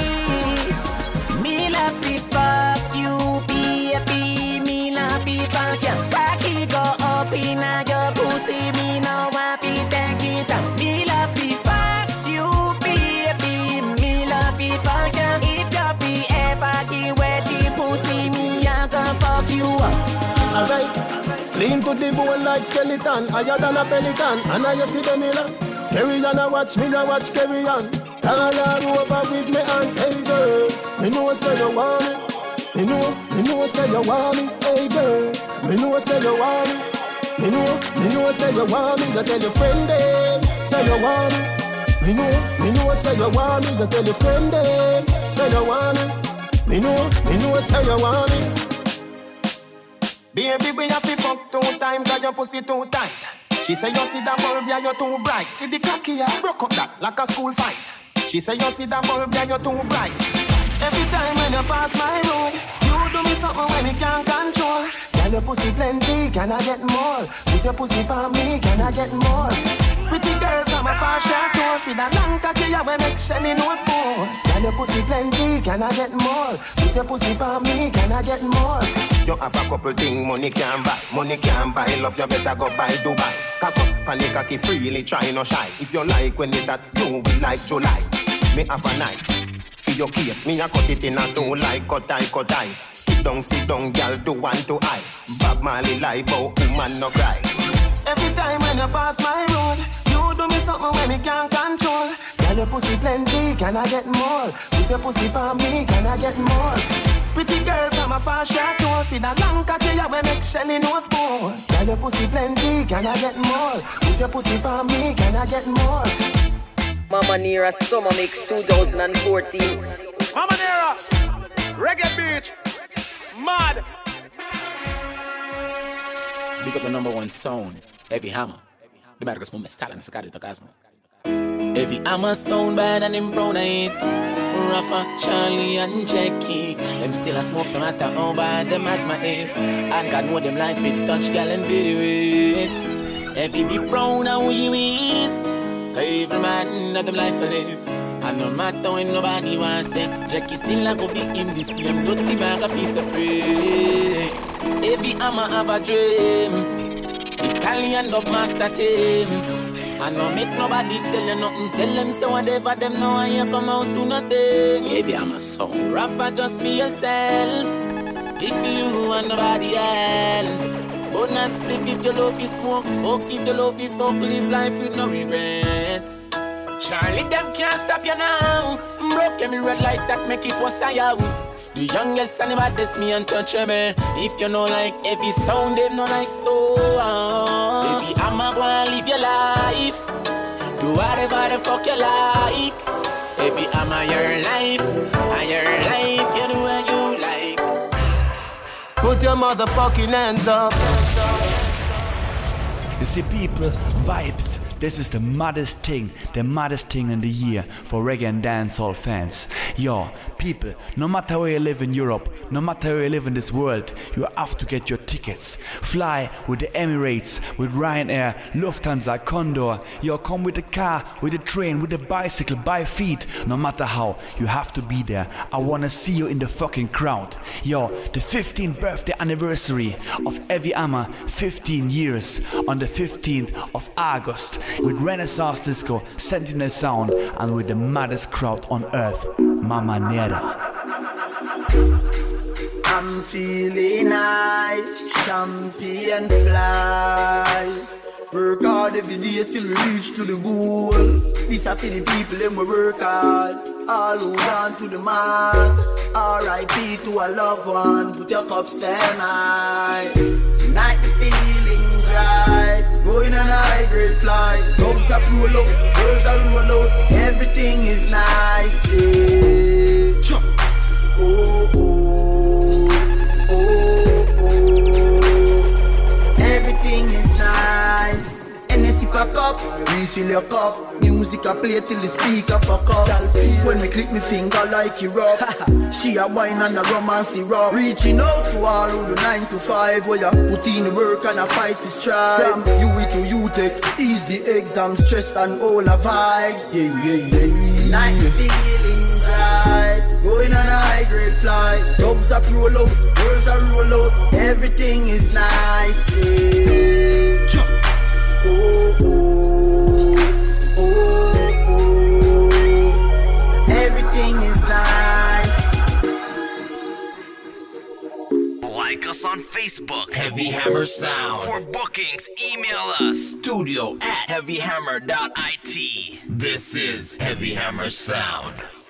Speaker 24: Me love me, fuck you, baby. Me love me, fuck you. Back it go up in your pussy. Me no want to take it up. Me love me, fuck you, baby. Me love me, fuck you. If you be ever give away the pussy, me I can fuck you up.
Speaker 23: Alright. Lean to the bone like skeleton, higher than a pelican. And I see the mirror. Carry on, I watch me, I watch carry on. All over with me and hey girl, me know say you want me. Me know, me know say you want me. Hey girl, me know say you want me. Me know, me know say you want me. You tell your friend them, say you want me. Me know, me know say you want me. You tell your friend them, say you want me. Me know, me know say you want me.
Speaker 12: Baby, we have to fuck two times, cause your pussy too tight. She say you see that bulb, yeah, you're too bright. See the cocky, yeah, broke up that like a school fight. She say you see that bulb, yeah, you're too bright. Every time when you pass my road, you do me something when you can't control. Girl, your pussy plenty, can I get more? Put your pussy for me, can I get more? Pretty girl from a far short tour. See that long cocky, yeah, we make Shelly no spoon. Girl, your pussy plenty, can I get more? Put your pussy for me, can I get more? You have a couple things money can't buy. Money can't buy, love you better go buy Dubai. Cock up and the cocky freely, try no shy. If you like when it that, you will like July. Me have a knife, for your cake. Me a cut it in a two like cut eye, cut eye. Sit down, sit down, girl, do one to eye. Bob Marley lie, but woman no cry. Every time when you pass my road, you do me something when me can't control.
Speaker 14: Girl, your pussy plenty, can I get more? Put your pussy on me, can I get more? Pretty girl from a far shot nose, in a long cocky, you will make Shelly nose more. Girl, your pussy plenty, can I get more? Put your pussy on me, can I get more?
Speaker 8: Mama Nera Summer Mix twenty fourteen.
Speaker 4: Mama Nera, Reggae Beach, mad.
Speaker 18: Big up the number one sound, Heavy Hammer. The Marcus Mummy Stalin, Sakari Tokasmo. Heavy Hammer sound bad and them brown it. Rafa, Charlie and Jackie. Them still a smoke no matter how bad them asthma is. And God know them like fit touch gal and video it. Heavy be brown and we is. Cause every man that them life a live. And no matter when nobody wants say Jackie still a go be him this same dirty bag a piece of bread. Heavy Hammer have a dream. Italian dub master team. I no make nobody tell you nothing. Tell them say whatever them know and you come out to nothing. Heavy Hammer song. Rafa, just be yourself. If you and nobody else. Bonus split if you love you smoke. Fuck if you love you fuck. Live life with no regrets. Charlie, them can't stop you now. Broke every red light that make it was a yow. The youngest and the baddest me and touch me. If you know like every sound, them no like oh. Baby, I'ma go and live your life. Do whatever the fuck you like. Baby, I'ma your life. And your life, you do what you like.
Speaker 23: Put your motherfucking hands up.
Speaker 22: You see, people, vibes. This is the maddest thing, the maddest thing in the year for reggae and dancehall fans. Yo, people, no matter where you live in Europe, no matter where you live in this world, you have to get your tickets. Fly with the Emirates, with Ryanair, Lufthansa, Condor. Yo, come with the car, with the train, with the bicycle, by feet. No matter how, you have to be there. I wanna see you in the fucking crowd. Yo, the fifteenth birthday anniversary of Heavy Hammer, fifteen years, on the fifteenth of August. With Renaissance Disco, Sentinel Sound, and with the maddest crowd on earth, Mama Nera.
Speaker 20: I'm feeling high, champion fly. Work hard every day till we reach to the goal. This a for the people, them we work hard. All who on to the mark. R I P to a loved one, put your cups down high. Night the feelings right. Going on a high grade flight. Dogs are roll out, girls are roll out. Everything is nice, yeah. Oh, oh, oh, oh. Everything is nice. N S C pack up, refill your cup. Music I play till the speaker fuck up. When me click me finger like it rock. She a wine and a romance rock. Reaching out to all who do nine to five. Where you put in the work and a fight to strive. From U E to U Tech, ease the exam, stress and all the vibes. Yeah, yeah, yeah. Night feelings right. Going on a high grade flight. Dogs are roll out, girls are roll out. Everything is nice, yeah. Oh, oh, oh, oh. Everything is nice.
Speaker 6: Like us on Facebook, Heavy Hammer Sound. For bookings, email us, studio at heavy hammer dot I T. This is Heavy Hammer Sound.